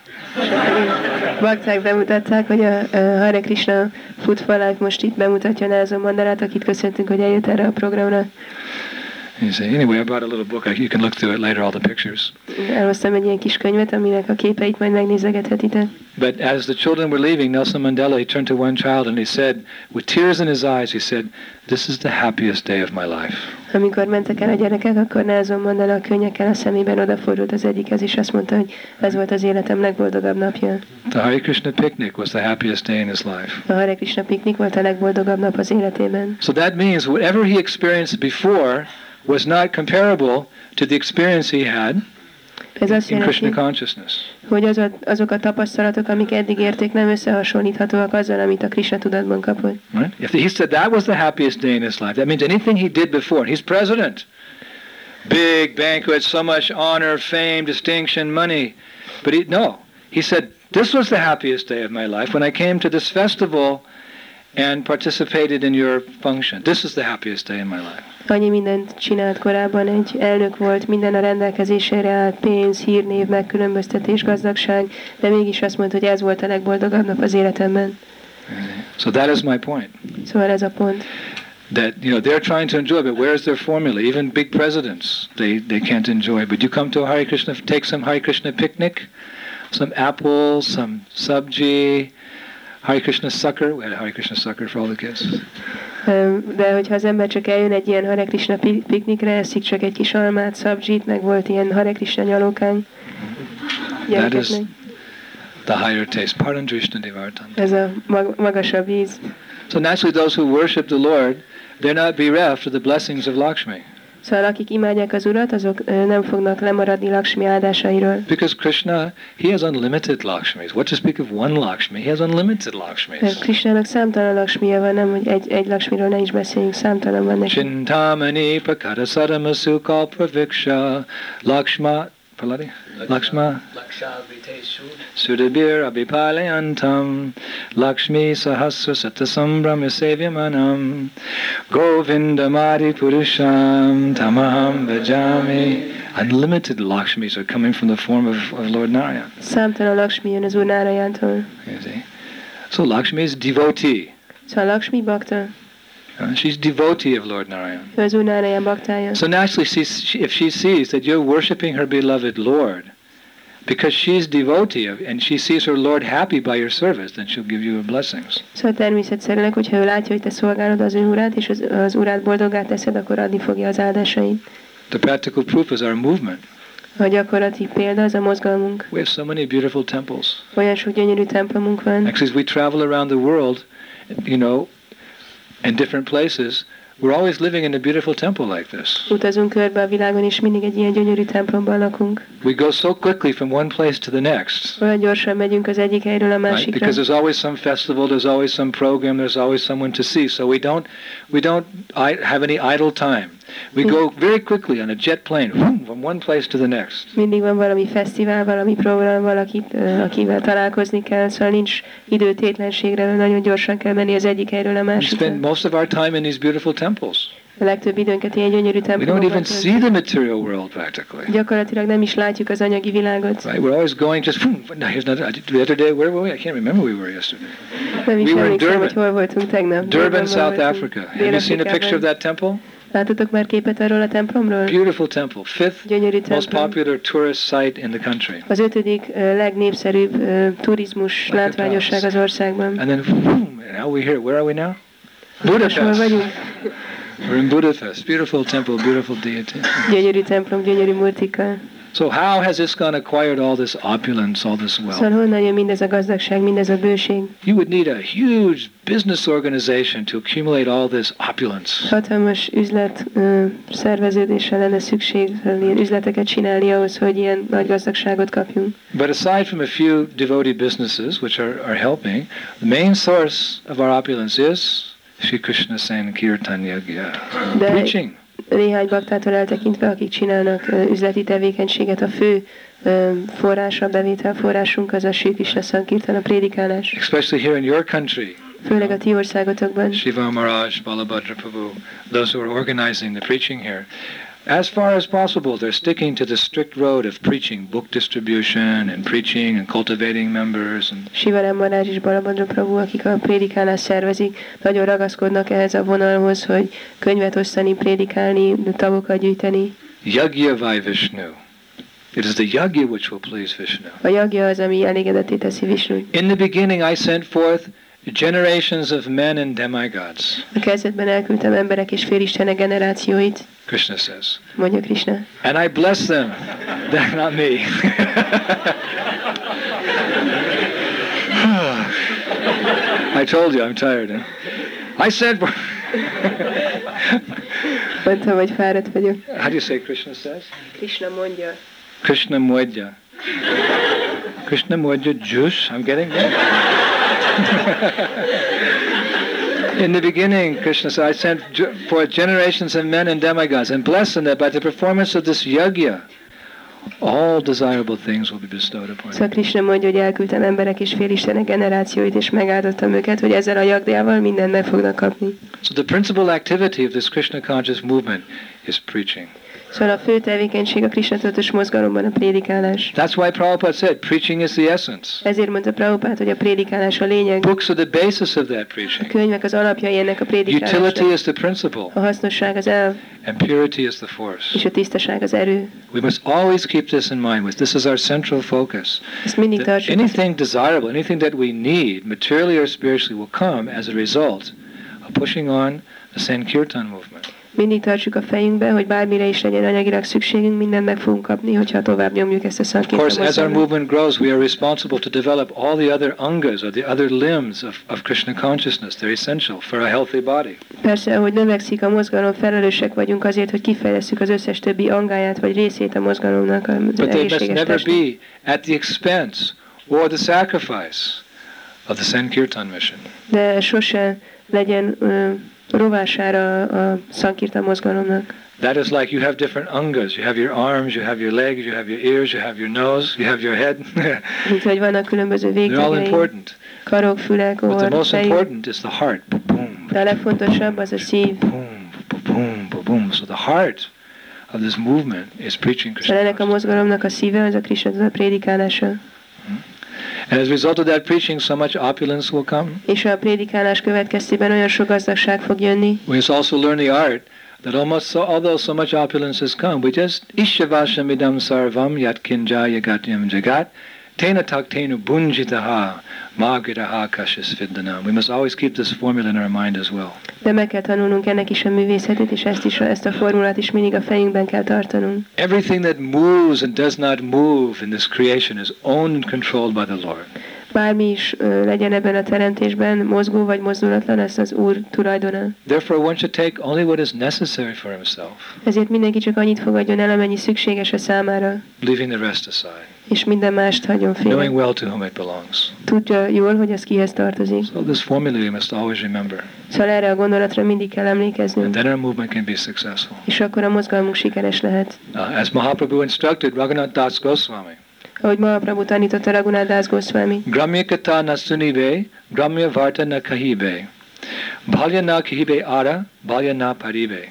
bakták bemutatták, hogy a, a Hare Krishna Food for Life most itt bemutatja Nelson Mandelát, akit köszöntünk, hogy eljött erre a programra. You say, anyway, I brought a little book. You can look through it later, all the pictures. Elhoztam egy ilyen kis könyvet, aminek a képeit majd megnézegethetitek. But as the children were leaving, Nelson Mandela, he turned to one child and he said, with tears in his eyes, he said, "This is the happiest day of my life." Amikor mentek el a gyerekek, akkor Nelson Mandela könnyekkel a szemében odafordult az egyikhez, és azt mondta, hogy ez volt az életem legboldogabb napja. The Hare Krishna picnic was the happiest day in his life. A Hare Krishna piknik volt a legboldogabb nap az életében. So that means whatever he experienced before was not comparable to the experience he had Ez azt in Krishna jelenti, consciousness. hogy az, azok a tapasztalatok, amik eddig érték, nem összehasonlíthatóak azzal, amit a Krishna tudatban kapott. Right? If he said that was the happiest day in his life, that means anything he did before. He's president. Big banquet, so much honor, fame, distinction, money. But he, no, he said, this was the happiest day of my life when I came to this festival and participated in your function. This is the happiest day in my life. Annyi mindent csinált korábban, egy elnök volt, minden a rendelkezésére állt, pénz, hírnév, megkülönböztetés, gazdagság, de mégis azt mondta, hogy ez volt a legboldogabb nap az életemben. So that is my point. Szóval ez a pont. That, you know, they're trying to enjoy, but where's their formula? Even big presidents, they, they can't enjoy. But you come to a Hare Krishna, take some Hare Krishna picnic, some apples, some sabji, Hare Krishna sucker. We had a Hare Krishna sucker for all the kids. De hogyha az ember csak eljön egy ilyen Hare Krishna piknikre, eszik csak egy kis almát, szabzsit, meg volt ilyen Hare Krishna nyalókány gyerekeknek. The higher taste, Parandrashna Devartan. Ez a mag- magasabb íz. So naturally those who worship the Lord, they're not bereft of the blessings of Lakshmi. Szóval akik imádják az Urat, azok ö, nem fognak lemaradni Lakshmi áldásairól. Because Krishna, he has unlimited Lakshmis. What to speak of one Lakshmi? He has unlimited Lakshmis. Krishnának számtalan Lakshmija van, nem, hogy egy, egy Lakshmiról ne is beszéljünk, számtalan van neki. Chintamani prakara saramasu kalpraviksha Lakshma, Paladi? Lakshma? Sudabir abhipalayantam Lakshmi sahasra satasambram sevyamanam Govindamadi purusham tamaham bhajami. Unlimited Lakshmis are coming from the form of, of Lord Narayan. Számtalan Lakshmi jön az Úr Nárayántól. You see? So Lakshmi is devotee. Szóval Lakshmi bakta, Uh, she's devotee of Lord Narayan. ő az Úr Nárayán baktája. So naturally, she's, she, if she sees that you're worshiping her beloved Lord, because she's devotee of, and she sees her Lord happy by your service, then she'll give you her blessings. Szóval természetszerűleg, hogyha ő látja, hogy te szolgálod az ő Urát, és az, az Urát boldoggá teszed, akkor adni fogja az áldásait. The practical proof is our movement. A gyakorlati példa az a mozgalmunk. We have so many beautiful temples. Olyan sok gyönyörű templomunk van. Actually, as we travel around the world, you know, in different places, we're always living in a beautiful temple like this. Utazunk körbe a világon, és mindig egy ilyen gyönyörű templomban lakunk. We go so quickly from one place to the next. Olyan gyorsan megyünk az egyik helyről a Right? másikra. Because there's always some festival, there's always some program, there's always someone to see. So we don't, we don't I- have any idle time. We go very quickly on a jet plane whoom, from one place to the next. Mindig van valami fesztivál, valami program, valakit, uh, akivel találkozni kell, szóval nincs időtétlenségre, nagyon gyorsan kell menni az egyik helyről a We másikra. spend most of our time in these beautiful temples. A legtöbb időnket ilyen gyönyörű We don't templomokban even see töltjük. the material world practically. Gyakorlatilag nem is látjuk az anyagi világot. Right? We're always going just. No, here's another. The other day, where were we? I can't remember where we were yesterday. Nem is We were in emlékszem, hogy Durban. hol voltunk tegnap. Durban, South voltunk. Africa. Have you seen a picture of that temple? Látotok már képet arról a templomról? Beautiful temple, fifth Gyönyörű most templom. popular tourist site in the country. Az ötödik uh, legnépszerűbb uh, turizmus Like a látványosság palace. az országban. And then, boom, and now we're here. Where are we now? Most hol Budapest. vagyunk? We're in Budapest. Beautiful temple, beautiful deity. Gyönyörű templom, gyönyörű murtikkal. So how has ISKCON acquired all this opulence, all this wealth? Szóval honnan jön mindez a gazdagság, mindez a bőség? You would need a huge business organization to accumulate all this opulence. Hatalmas üzlet uh, szerveződésre lenne szükség, ilyen üzleteket csinálni ahhoz, hogy ilyen nagy gazdagságot kapjunk. But aside from a few devotee businesses, which are, are helping, the main source of our opulence is Sri Krishna Sankirtan Yagya. De Preaching. néhány baktától eltekintve, akik csinálnak uh, üzleti tevékenységet, a fő uh, forrása, bevételforrásunk az a Sri Krishna Sankirtan, a prédikálás. Especially here in your country. Főleg a ti országotokban. Shiva Maharaj, Balabhadra Prabhu, those who are organizing the preaching here. As far as possible, they're sticking to the strict road of preaching, book distribution and preaching and cultivating members. And Sivarám Marázs és Balabhadra Prabhu, akik a prédikálást szervezik, nagyon ragaszkodnak ehhez a vonalhoz, hogy könyvet osztani, prédikálni, tagokat gyűjteni. Yagya Vai Vishnu. It is the yagya which will please Vishnu. A jagja az, ami elégedetté teszi Visnut. In the beginning I sent forth generations of men and demigods, A kezdetben elküldtem emberek és félistenek generációit, Krishna says. mondja Krishna. And I bless them. That's not me. I told you I'm tired. Huh? I said, Mondtam, hogy fáradt vagyok. how do you say Krishna says? Krishna mondja. Krishna Moidya. Krishna Moidya juice. I'm getting there. In the beginning, Krishna said, I sent ge- forth generations of men and demigods, and blessed them that by the performance of this yagya, all desirable things will be bestowed upon you. Szóval Krishna mondja, hogy elküldtem emberek és félistenek generációit, és megáldottam őket, hogy ezzel a jagdjával mindent meg fognak kapni. So the principal activity of this Krishna conscious movement is preaching. Szóval a fő tevékenység a Krishna tudatos mozgalomban a prédikálás. That's why Prabhupada said preaching is the essence. Ezért mondta Prabhupád, hogy a prédikálás a lényeg. Books are the basis of that A preaching. könyvek az alapjai ennek a prédikálásnak. Utility is the principle, A hasznosság az elv, and purity is the force. és a tisztaság az erő. We must always keep this in mind. With this is our central focus. Ezt mindig That tartsuk. anything desirable, anything that we need, materially or spiritually, will come as a result of pushing on the Sankirtan movement. Mindig tartsuk a fejünkbe, hogy bármire is legyen anyagilag szükségünk, mindent meg fogunk kapni, hogyha tovább nyomjuk ezt a Of course, Sankirtan as our mozgalmat. movement grows, we are responsible to develop all the other angas or the other limbs of, of Krishna consciousness. They're essential for a healthy body. Persze, ahogy növekszik a mozgalom, felelősek vagyunk azért, hogy kifejlesszük az összes többi angáját, vagy részét a mozgalomnak, az But they must egészséges never testnek. be at the expense or the sacrifice of the Sankirtan mission. De sose legyen ö, rovására a Sankirtan mozgalomnak. That is like you have different angas. You have your arms, you have your legs, you have your ears, you have your nose, you have your head. Mint hogy vannak különböző They're all végtagjai, important. karok, fülek, But the orr, most fejük. important is the heart. Boom, De a legfontosabb az a szív. boom, boom, boom. So the heart of this movement is preaching Szóval ennek a Krishna. mozgalomnak a szíve az a Krishna tudat prédikálása. And as a result of that preaching, so much opulence will come. És a prédikálás következtében olyan sok gazdagság fog jönni. We must also learn the art that almost so, although so much opulence has come, we just ishavashamidam sarvam yat kinjaya gatyam jagat Tena taktenu bunjitaha, magiraha kashis viddanam. We must always keep this formula in our mind as well. De meg kell tanulnunk ennek is a művészetét, és ezt, is, ezt a formulát is mindig a fejünkben kell tartanunk. Everything that moves and does not move in this creation is owned and controlled by the Lord. Bármi is ö, legyen ebben a teremtésben, mozgó vagy mozdulatlan, ez az Úr tulajdona. Therefore, one should take only what is necessary for himself, Ezért mindenki csak annyit fogadjon el, amennyi szükséges a számára, leaving the rest aside, és minden mást hagyjon félre. knowing well to whom it belongs. Tudja jól, hogy ez kihez tartozik. So this formula we must always remember, Szóval erre a gondolatra mindig kell and emlékeznünk, then our movement can be successful. és akkor a mozgalmunk sikeres lehet. Uh, as Mahaprabhu instructed Raghunath Das Goswami, Ahogy Mahaprabhu tanította Raghunath Das Goswami, Gramya kata na sunibe, Gramya varta na kahibe, Balya na kahibe ara, Balya na paribe.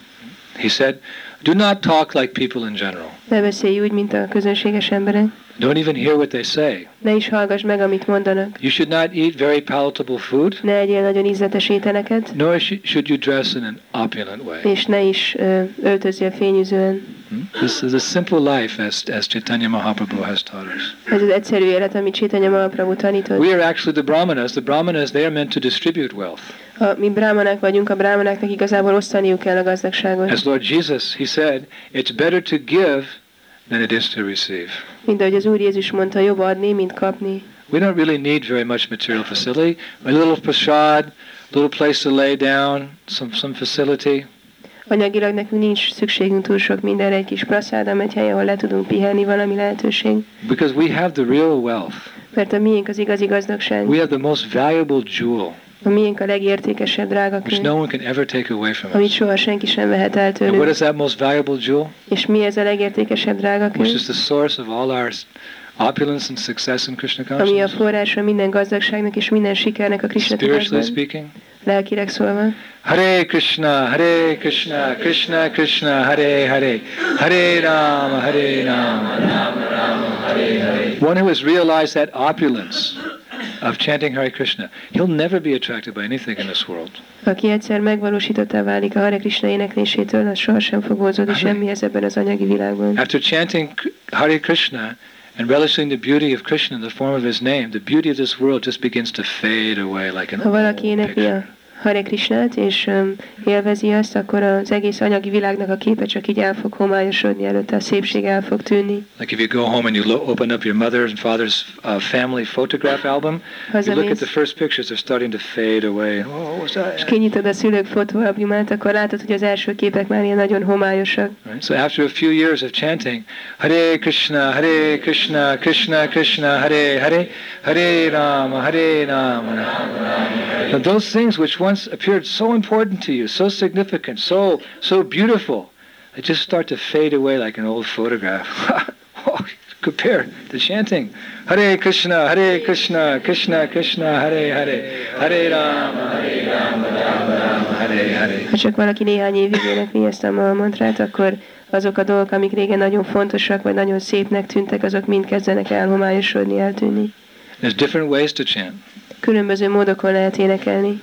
He said, do not talk like people in general. ne beszélj úgy, mint a közönséges emberek, Don't even hear what they say. ne is hallgass meg, amit mondanak, You should not eat very palatable food, ne egyél nagyon ízletes ételeket, nor sh- should you dress in an opulent way. és ne is ö, öltözzél fényűzően. Hmm? This is a simple life as, as Chaitanya Mahaprabhu has taught us. Ez az egyszerű élet, amit Chaitanya Mahaprabhu tanított. We are actually the brahmanas. The brahmanas, they are meant to distribute wealth. Ha mi brámanák vagyunk, a brámanáknak igazából osztaniuk kell a gazdagságot. As Lord Jesus, he said, it's better to give than it is to receive. Mint ahogy az Úr Jézus mondta, jobb adni, mint kapni. We don't really need very much material facility. A little prasad, little place to lay down, some, some facility. Anyagilag nekünk nincs szükségünk túl sok mindenre, egy kis praszádam, egy hely, ahol le tudunk pihenni, valami lehetőség. Because we have the real wealth. Mert a miénk az igazi gazdagság. We have the most valuable jewel, A miénk a legértékesebb drága which könyv, no one can ever take away from amit us. soha senki sem vehet el And what tőlünk. is that most valuable jewel? És mi ez a legértékesebb drága Which könyv? is the source of all our opulence and success in Krishna Ami a consciousness? forrása minden gazdagságnak és minden sikernek a Krishna Spiritually tudásban, speaking. lelkileg szólva. Hare Krishna, Hare Krishna, Krishna Krishna, Hare Hare, Hare Rama, Hare Rama, Rama Rama, Hare Hare. One who has realized that opulence of chanting Hare Krishna, he'll never be attracted by anything in this world. Aki egyszer megvalósítottá válik a Hare Krishna éneklésétől, az sohasem fog vonzódni semmihez ebben az anyagi világban. After chanting Hare Krishna and relishing the beauty of Krishna in the form of his name, the beauty of this world just begins to fade away like an Ha old valaki énekli picture. a Hare Krishnát, és um, élvezi azt, akkor az egész anyagi világnak a képe csak így el fog homályosodni előtte, a szépség el fog tűnni. Like if you go home and you lo- open up your mother's and father's uh, family photograph album, you look at the first pictures, they're starting to fade away. Oh, what's that? És kinyitod a szülők fotóalbumát, akkor látod, hogy az első képek már ilyen nagyon homályosak. Right? So after a few years of chanting, Hare Krishna, Hare Krishna, Krishna Krishna, Hare Hare, Hare Rama, Hare Rama, Rama Rama. Now those things which once appeared so important to you, so significant, so so beautiful, they just start to fade away like an old photograph. Oh, compare the chanting. Hare Krishna, Hare Krishna, Krishna Krishna, Hare Hare, Hare Rama, Hare Rama, Rama Rama, Hare Hare. Ha csak valaki néhány évig énekli ezt a mantrát, akkor azok a dolgok, amik régen nagyon fontosak, vagy nagyon szépnek tűntek, azok mind kezdenek elhomályosodni, eltűnni. There's different ways to chant. Különböző módokon lehet énekelni.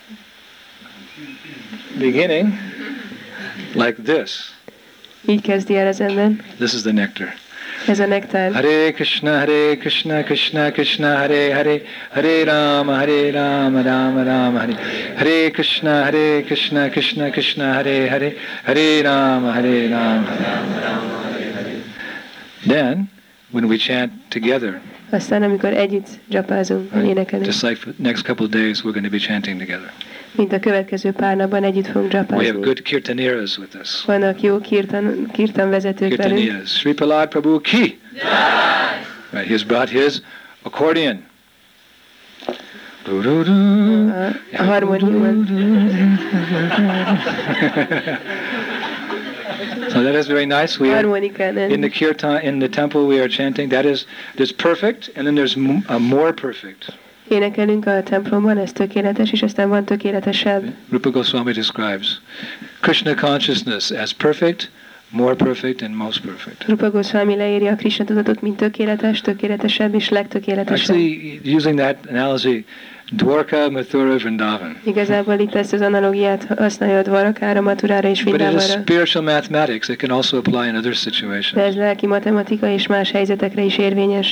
Beginning like this. Így kezdi el az ember. This is the nectar. Ez a nektár. Hare Krishna, Hare Krishna, Krishna Krishna, Hare Hare, Hare Rama, Hare Rama, Rama Rama, Hare Hare Krishna, Hare Krishna, Krishna Krishna, Hare Hare, Hare Rama, Hare Rama, Rama Rama, Hare Hare. Then, when we chant together, Aztán, amikor együtt dzsapázunk, right, énekelünk, just like for the next couple of days, we're going to be chanting together. mint a következő pár napban együtt fogunk We have dzsapázni. good kirtaneras with us. Vannak jó kirtan, kirtan vezetők velünk. Kirtaneras. Sri Prahlad Prabhu ki. Right, he's brought his accordion. A, a harmóniumon. So that is very nice. We are, Harmonikán. in the kirtan, in the temple, we are chanting. That is, there's perfect, and then there's m- a more perfect. Énekelünk a templomban, ez tökéletes, és aztán van tökéletesebb. Rupa Goswami describes Krishna consciousness as perfect, more perfect, and most perfect. Rupa Goswami leírja a Krishna tudatot, mint tökéletes, tökéletesebb és legtökéletesebb. Actually, using that analogy, Dwarka, Mathura, Vrindavan. Igazából itt ezt az analógiát használja a Dvarakára, Maturára és But it is Vrindavanra. spiritual mathematics. It can also apply in other situations. De ez lelki matematika és más helyzetekre is érvényes.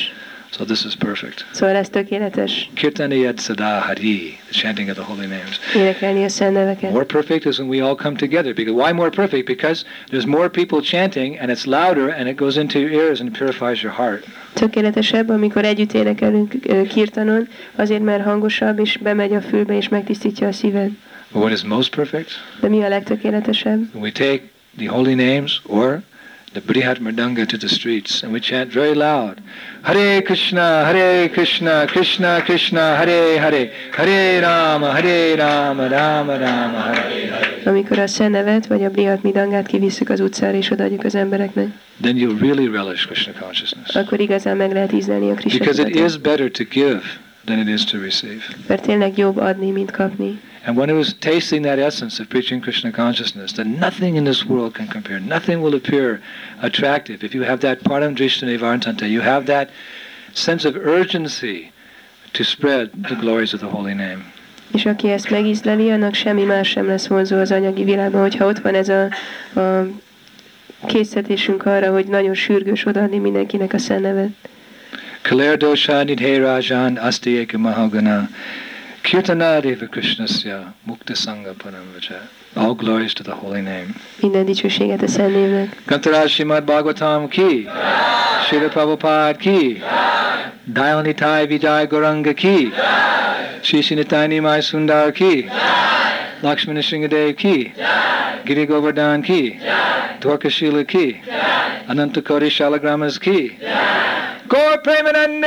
So this is perfect. Szóval ez tökéletes. Kirtaniyat sada hari, the chanting of the holy names. Énekelni a szent neveket. More perfect is when we all come together. Because why more perfect? Because there's more people chanting and it's louder and it goes into your ears and purifies your heart. Tökéletesebb, amikor együtt énekelünk kirtanon, azért mert hangosabb és bemegy a fülbe és megtisztítja a szíved. But what is most perfect? De mi a legtökéletesebb? When we take the holy names or the Brihat Mridanga to the streets and we chant very loud. Hare Krishna, Hare Krishna, Krishna Krishna, Hare Hare, Hare Rama, Hare Rama, Rama Rama, Hare Hare. Amikor a szent nevet vagy a Brihat Mridangát kivisszük az utcára és odaadjuk az embereknek, then you'll really relish Krishna consciousness. akkor igazán meg lehet ízlelni a Krishna Because it tudatot. is better to give than it is to receive. Mert tényleg jobb adni, mint kapni. And one who is tasting that essence of preaching Krishna consciousness, that nothing in this world can compare, nothing will appear attractive. If you have that param drishtani vartanta, you have that sense of urgency to spread the glories of the holy name. És aki ezt megízleli, annak semmi más sem lesz vonzó az anyagi világban, hogyha ott van ez a, a késztetésünk arra, hogy nagyon sürgős odaadni mindenkinek a szent nevet. Kaler dosha nidhe rajan asti eka mahagana kirtanadeva krishnasya mukta sangha paramvaja. All glories to the holy name. Minden dicsőséget a szent névnek. Kantaraj Srimad Bhagavatam ki, Srila Prabhupada ki, Dayanitai Vijay Gauranga ki, Shri Nitai Nimai Sundar ki, Lakshmana Sringadev ki, Giri Govardhan ki, Dwarkashila ki, Anantakoti Shalagramas ki, Gaur Premanande,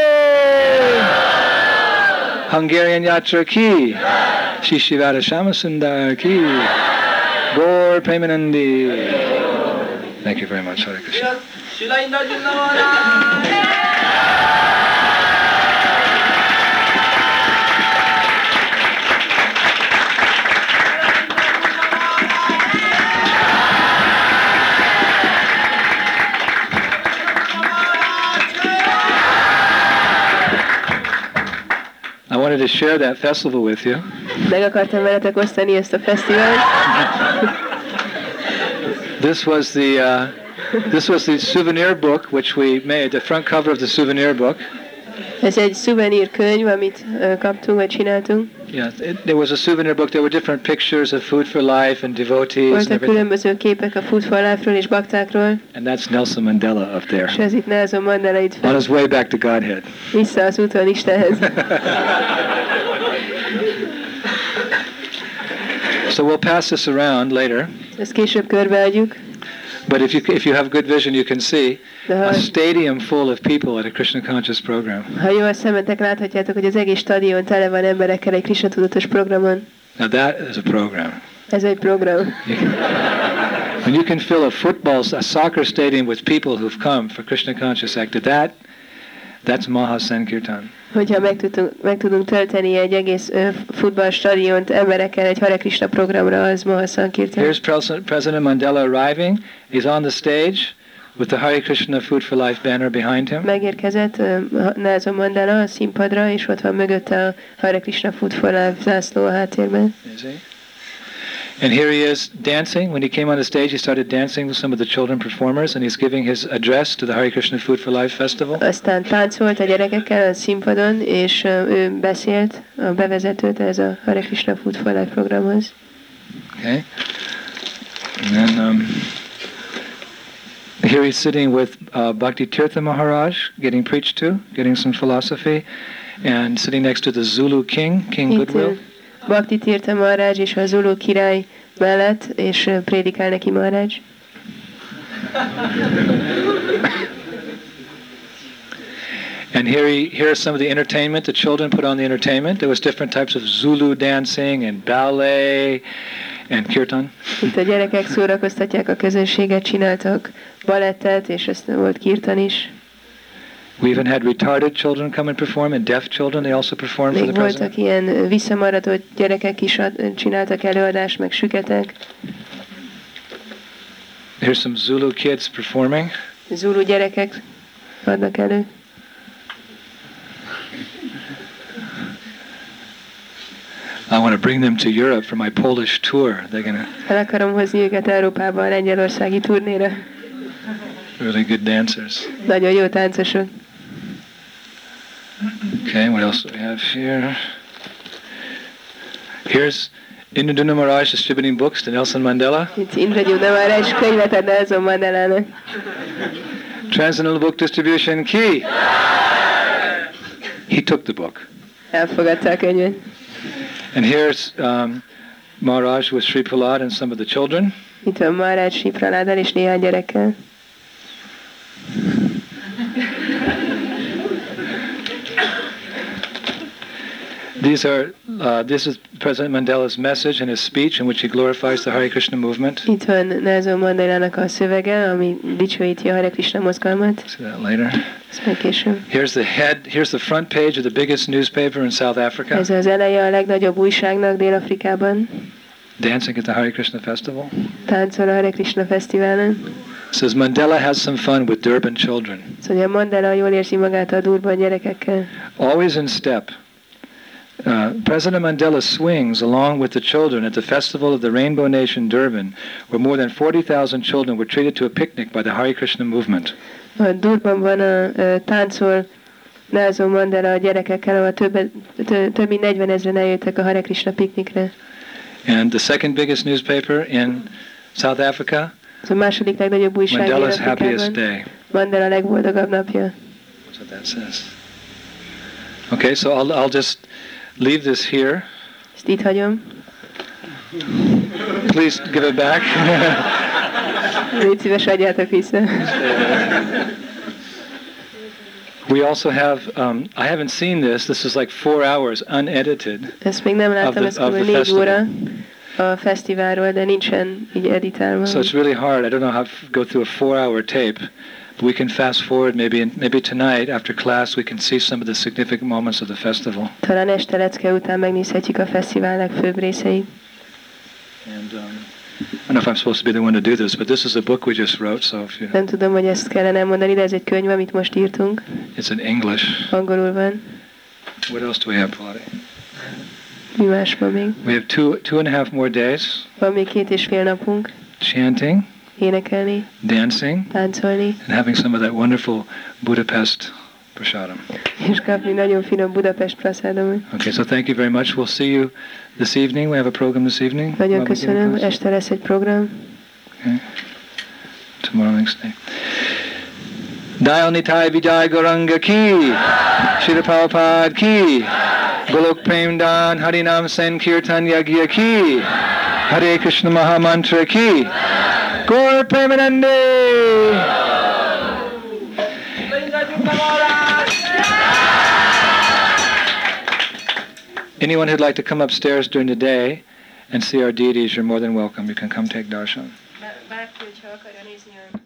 Hungarian Yatra ki, Shri Shivada Shamasundar ki, Gaur Premanandi. Thank you very much, Hare Krishna. I wanted to share that festival with you. Meg akartam veletek osztani ezt a fesztivált. This was the uh, this was the souvenir book which we made, the front cover of the souvenir book. Ez egy szuvenír könyv, amit uh, kaptunk, vagy csináltunk. Yeah, it, there was a souvenir book. There were different pictures of Food for Life and devotees and Voltak everything. különböző képek a Food for Life-ról és baktákról, And that's Nelson Mandela up there, és ez itt Nelson Mandela itt on fel, his way back to Godhead. vissza az úton Istenhez. So we'll pass this around later. Ezt később körbeadjuk, But if you if you have good vision, you can see de ha, a stadium full of people at a Krishna conscious program. ha jó a szemetek, láthatjátok, hogy az egész stadion tele van emberekkel egy Krishna tudatos programon. Now that is a program. Ez egy program. When you can fill a football, a soccer stadium with people who've come for Krishna conscious act, that that's Maha Sankirtan. Hogyha meg tudunk, meg tudunk tölteni egy egész ö, futballstadiont emberekkel egy Hare Krishna programra, az Maha Sankirtan. Here's President, President Mandela arriving. He's on the stage with the Hare Krishna Food for Life banner behind him. Megérkezett ö, Nelson Mandela a színpadra, és ott van mögötte a Hare Krishna Food for Life zászló a háttérben. You see? And here he is dancing. When he came on the stage, he started dancing with some of the children performers, and he's giving his address to the Hare Krishna Food for Life Festival. Aztán táncolt a gyerekekkel a színpadon, és ö, ő beszélt a bevezetőt ez a Hare Krishna Food for Life programhoz. Okay. And then um, here he's sitting with uh, Bhakti Tirtha Maharaj, getting preached to, getting some philosophy, and sitting next to the Zulu king, King Itt Goodwill. ö, Bhakti Tirtha Maharaj és a Zulu király mellett, és ö, prédikál neki Maharaj. And here, he, here are some of the entertainment. The children put on the entertainment. There was different types of Zulu dancing and ballet and kirtan. Itt a gyerekek szórakoztatják a közönséget, csináltak balettet, és aztán volt kirtan is. We even had retarded children come and perform, and deaf children. They also performed for Még the voltak president. ilyen visszamaradott gyerekek is, ad- csináltak előadást, meg süketek. Here's some Zulu kids performing. Zulu gyerekek adnak elő. I want to bring them to Europe for my Polish tour. They're gonna El akarom hozni őket Európába a lengyelországi turnéra. really good dancers. Nagyon jó táncosok. Okay, what else do we have here? Here's Indra Maharaj distributing books to Nelson Mandela. Itt Indra Maharaj könyvet ad Nelson Mandelának. Transcendental Book Distribution key. He took the book. Elfogadta a könyvet. And here's um, Maharaj with Sri Prahlad and some of the children. Itt van Maharaj Sri Prahláddal és néhány gyerekkel. These are, uh, this is President Mandela's message and his speech in which he glorifies the Hare Krishna movement. Itt van Nelson Mandelának a szövege, ami dicsőíti a Hare Krishna mozgalmat. See that later. Ezt meg később. Here's the head, here's the front page of the biggest newspaper in South Africa. Ez az eleje a legnagyobb újságnak Dél-Afrikában. Dancing at the Hare Krishna festival. Táncol a Hare Krishna fesztiválon. It says Mandela has some fun with Durban children. Szóval Mandela jól érzi magát a Durban gyerekekkel. Always in step. Uh, President Mandela swings along with the children at the festival of the Rainbow Nation Durban, where more than forty thousand children were treated to a picnic by the Hare Krishna movement. A Durbanban a, a táncol Nelson Mandela a gyerekekkel, ahol több, tö, több mint negyven ezren eljöttek a Hare Krishna piknikre. And the second biggest newspaper in South Africa, Ez a második legnagyobb újság Mandela's happiest Dél-Afrikában. day. Mandela legboldogabb napja. That's what that says. Okay, so I'll, I'll just leave this here. Ezt itt hagyom. Please give it back. Légy szíves, adjátok vissza. We also have, um, I haven't seen this, this is like four hours unedited. Ezt még nem láttam, the- ez of kb. the négy festival. óra a fesztiválról, de nincsen így editálva. So it's really hard. I don't know how to go through a four-hour tape, but we can fast forward maybe, and maybe tonight after class we can see some of the significant moments of the festival. Talán este lecke után megnézhetjük a fesztivál legfőbb részeit. And um, I don't know if I'm supposed to be the one to do this, but this is a book we just wrote. So if you, Nem tudom, hogy ezt kellene mondani, de ez egy könyv, amit most írtunk. it's in English. Angolul van. What else do we have, Pilates? Mi más van még? We have two two and a half more days Van még két és fél napunk chanting, énekelni, dancing, táncolni, and having some of that wonderful Budapest prasadam. és kapni nagyon finom Budapest prasadamot. Okay, so thank you very much. We'll see you this evening. We have a program this evening. Nagyon While we give köszönöm, class. este lesz egy program. Okay. Tomorrow, next day. Dayal Nitai Vijay Gauranga ki, Srila Prabhupada ki, Golok Prem Dan Harinam Sankirtan Yagya ki, Hare Krishna Mahamantra ki, Gaur Premanande! Anyone who'd like to come upstairs during the day and see our deities, you're more than welcome. You can come take darshan. Bárki, hogyha akarja nézni a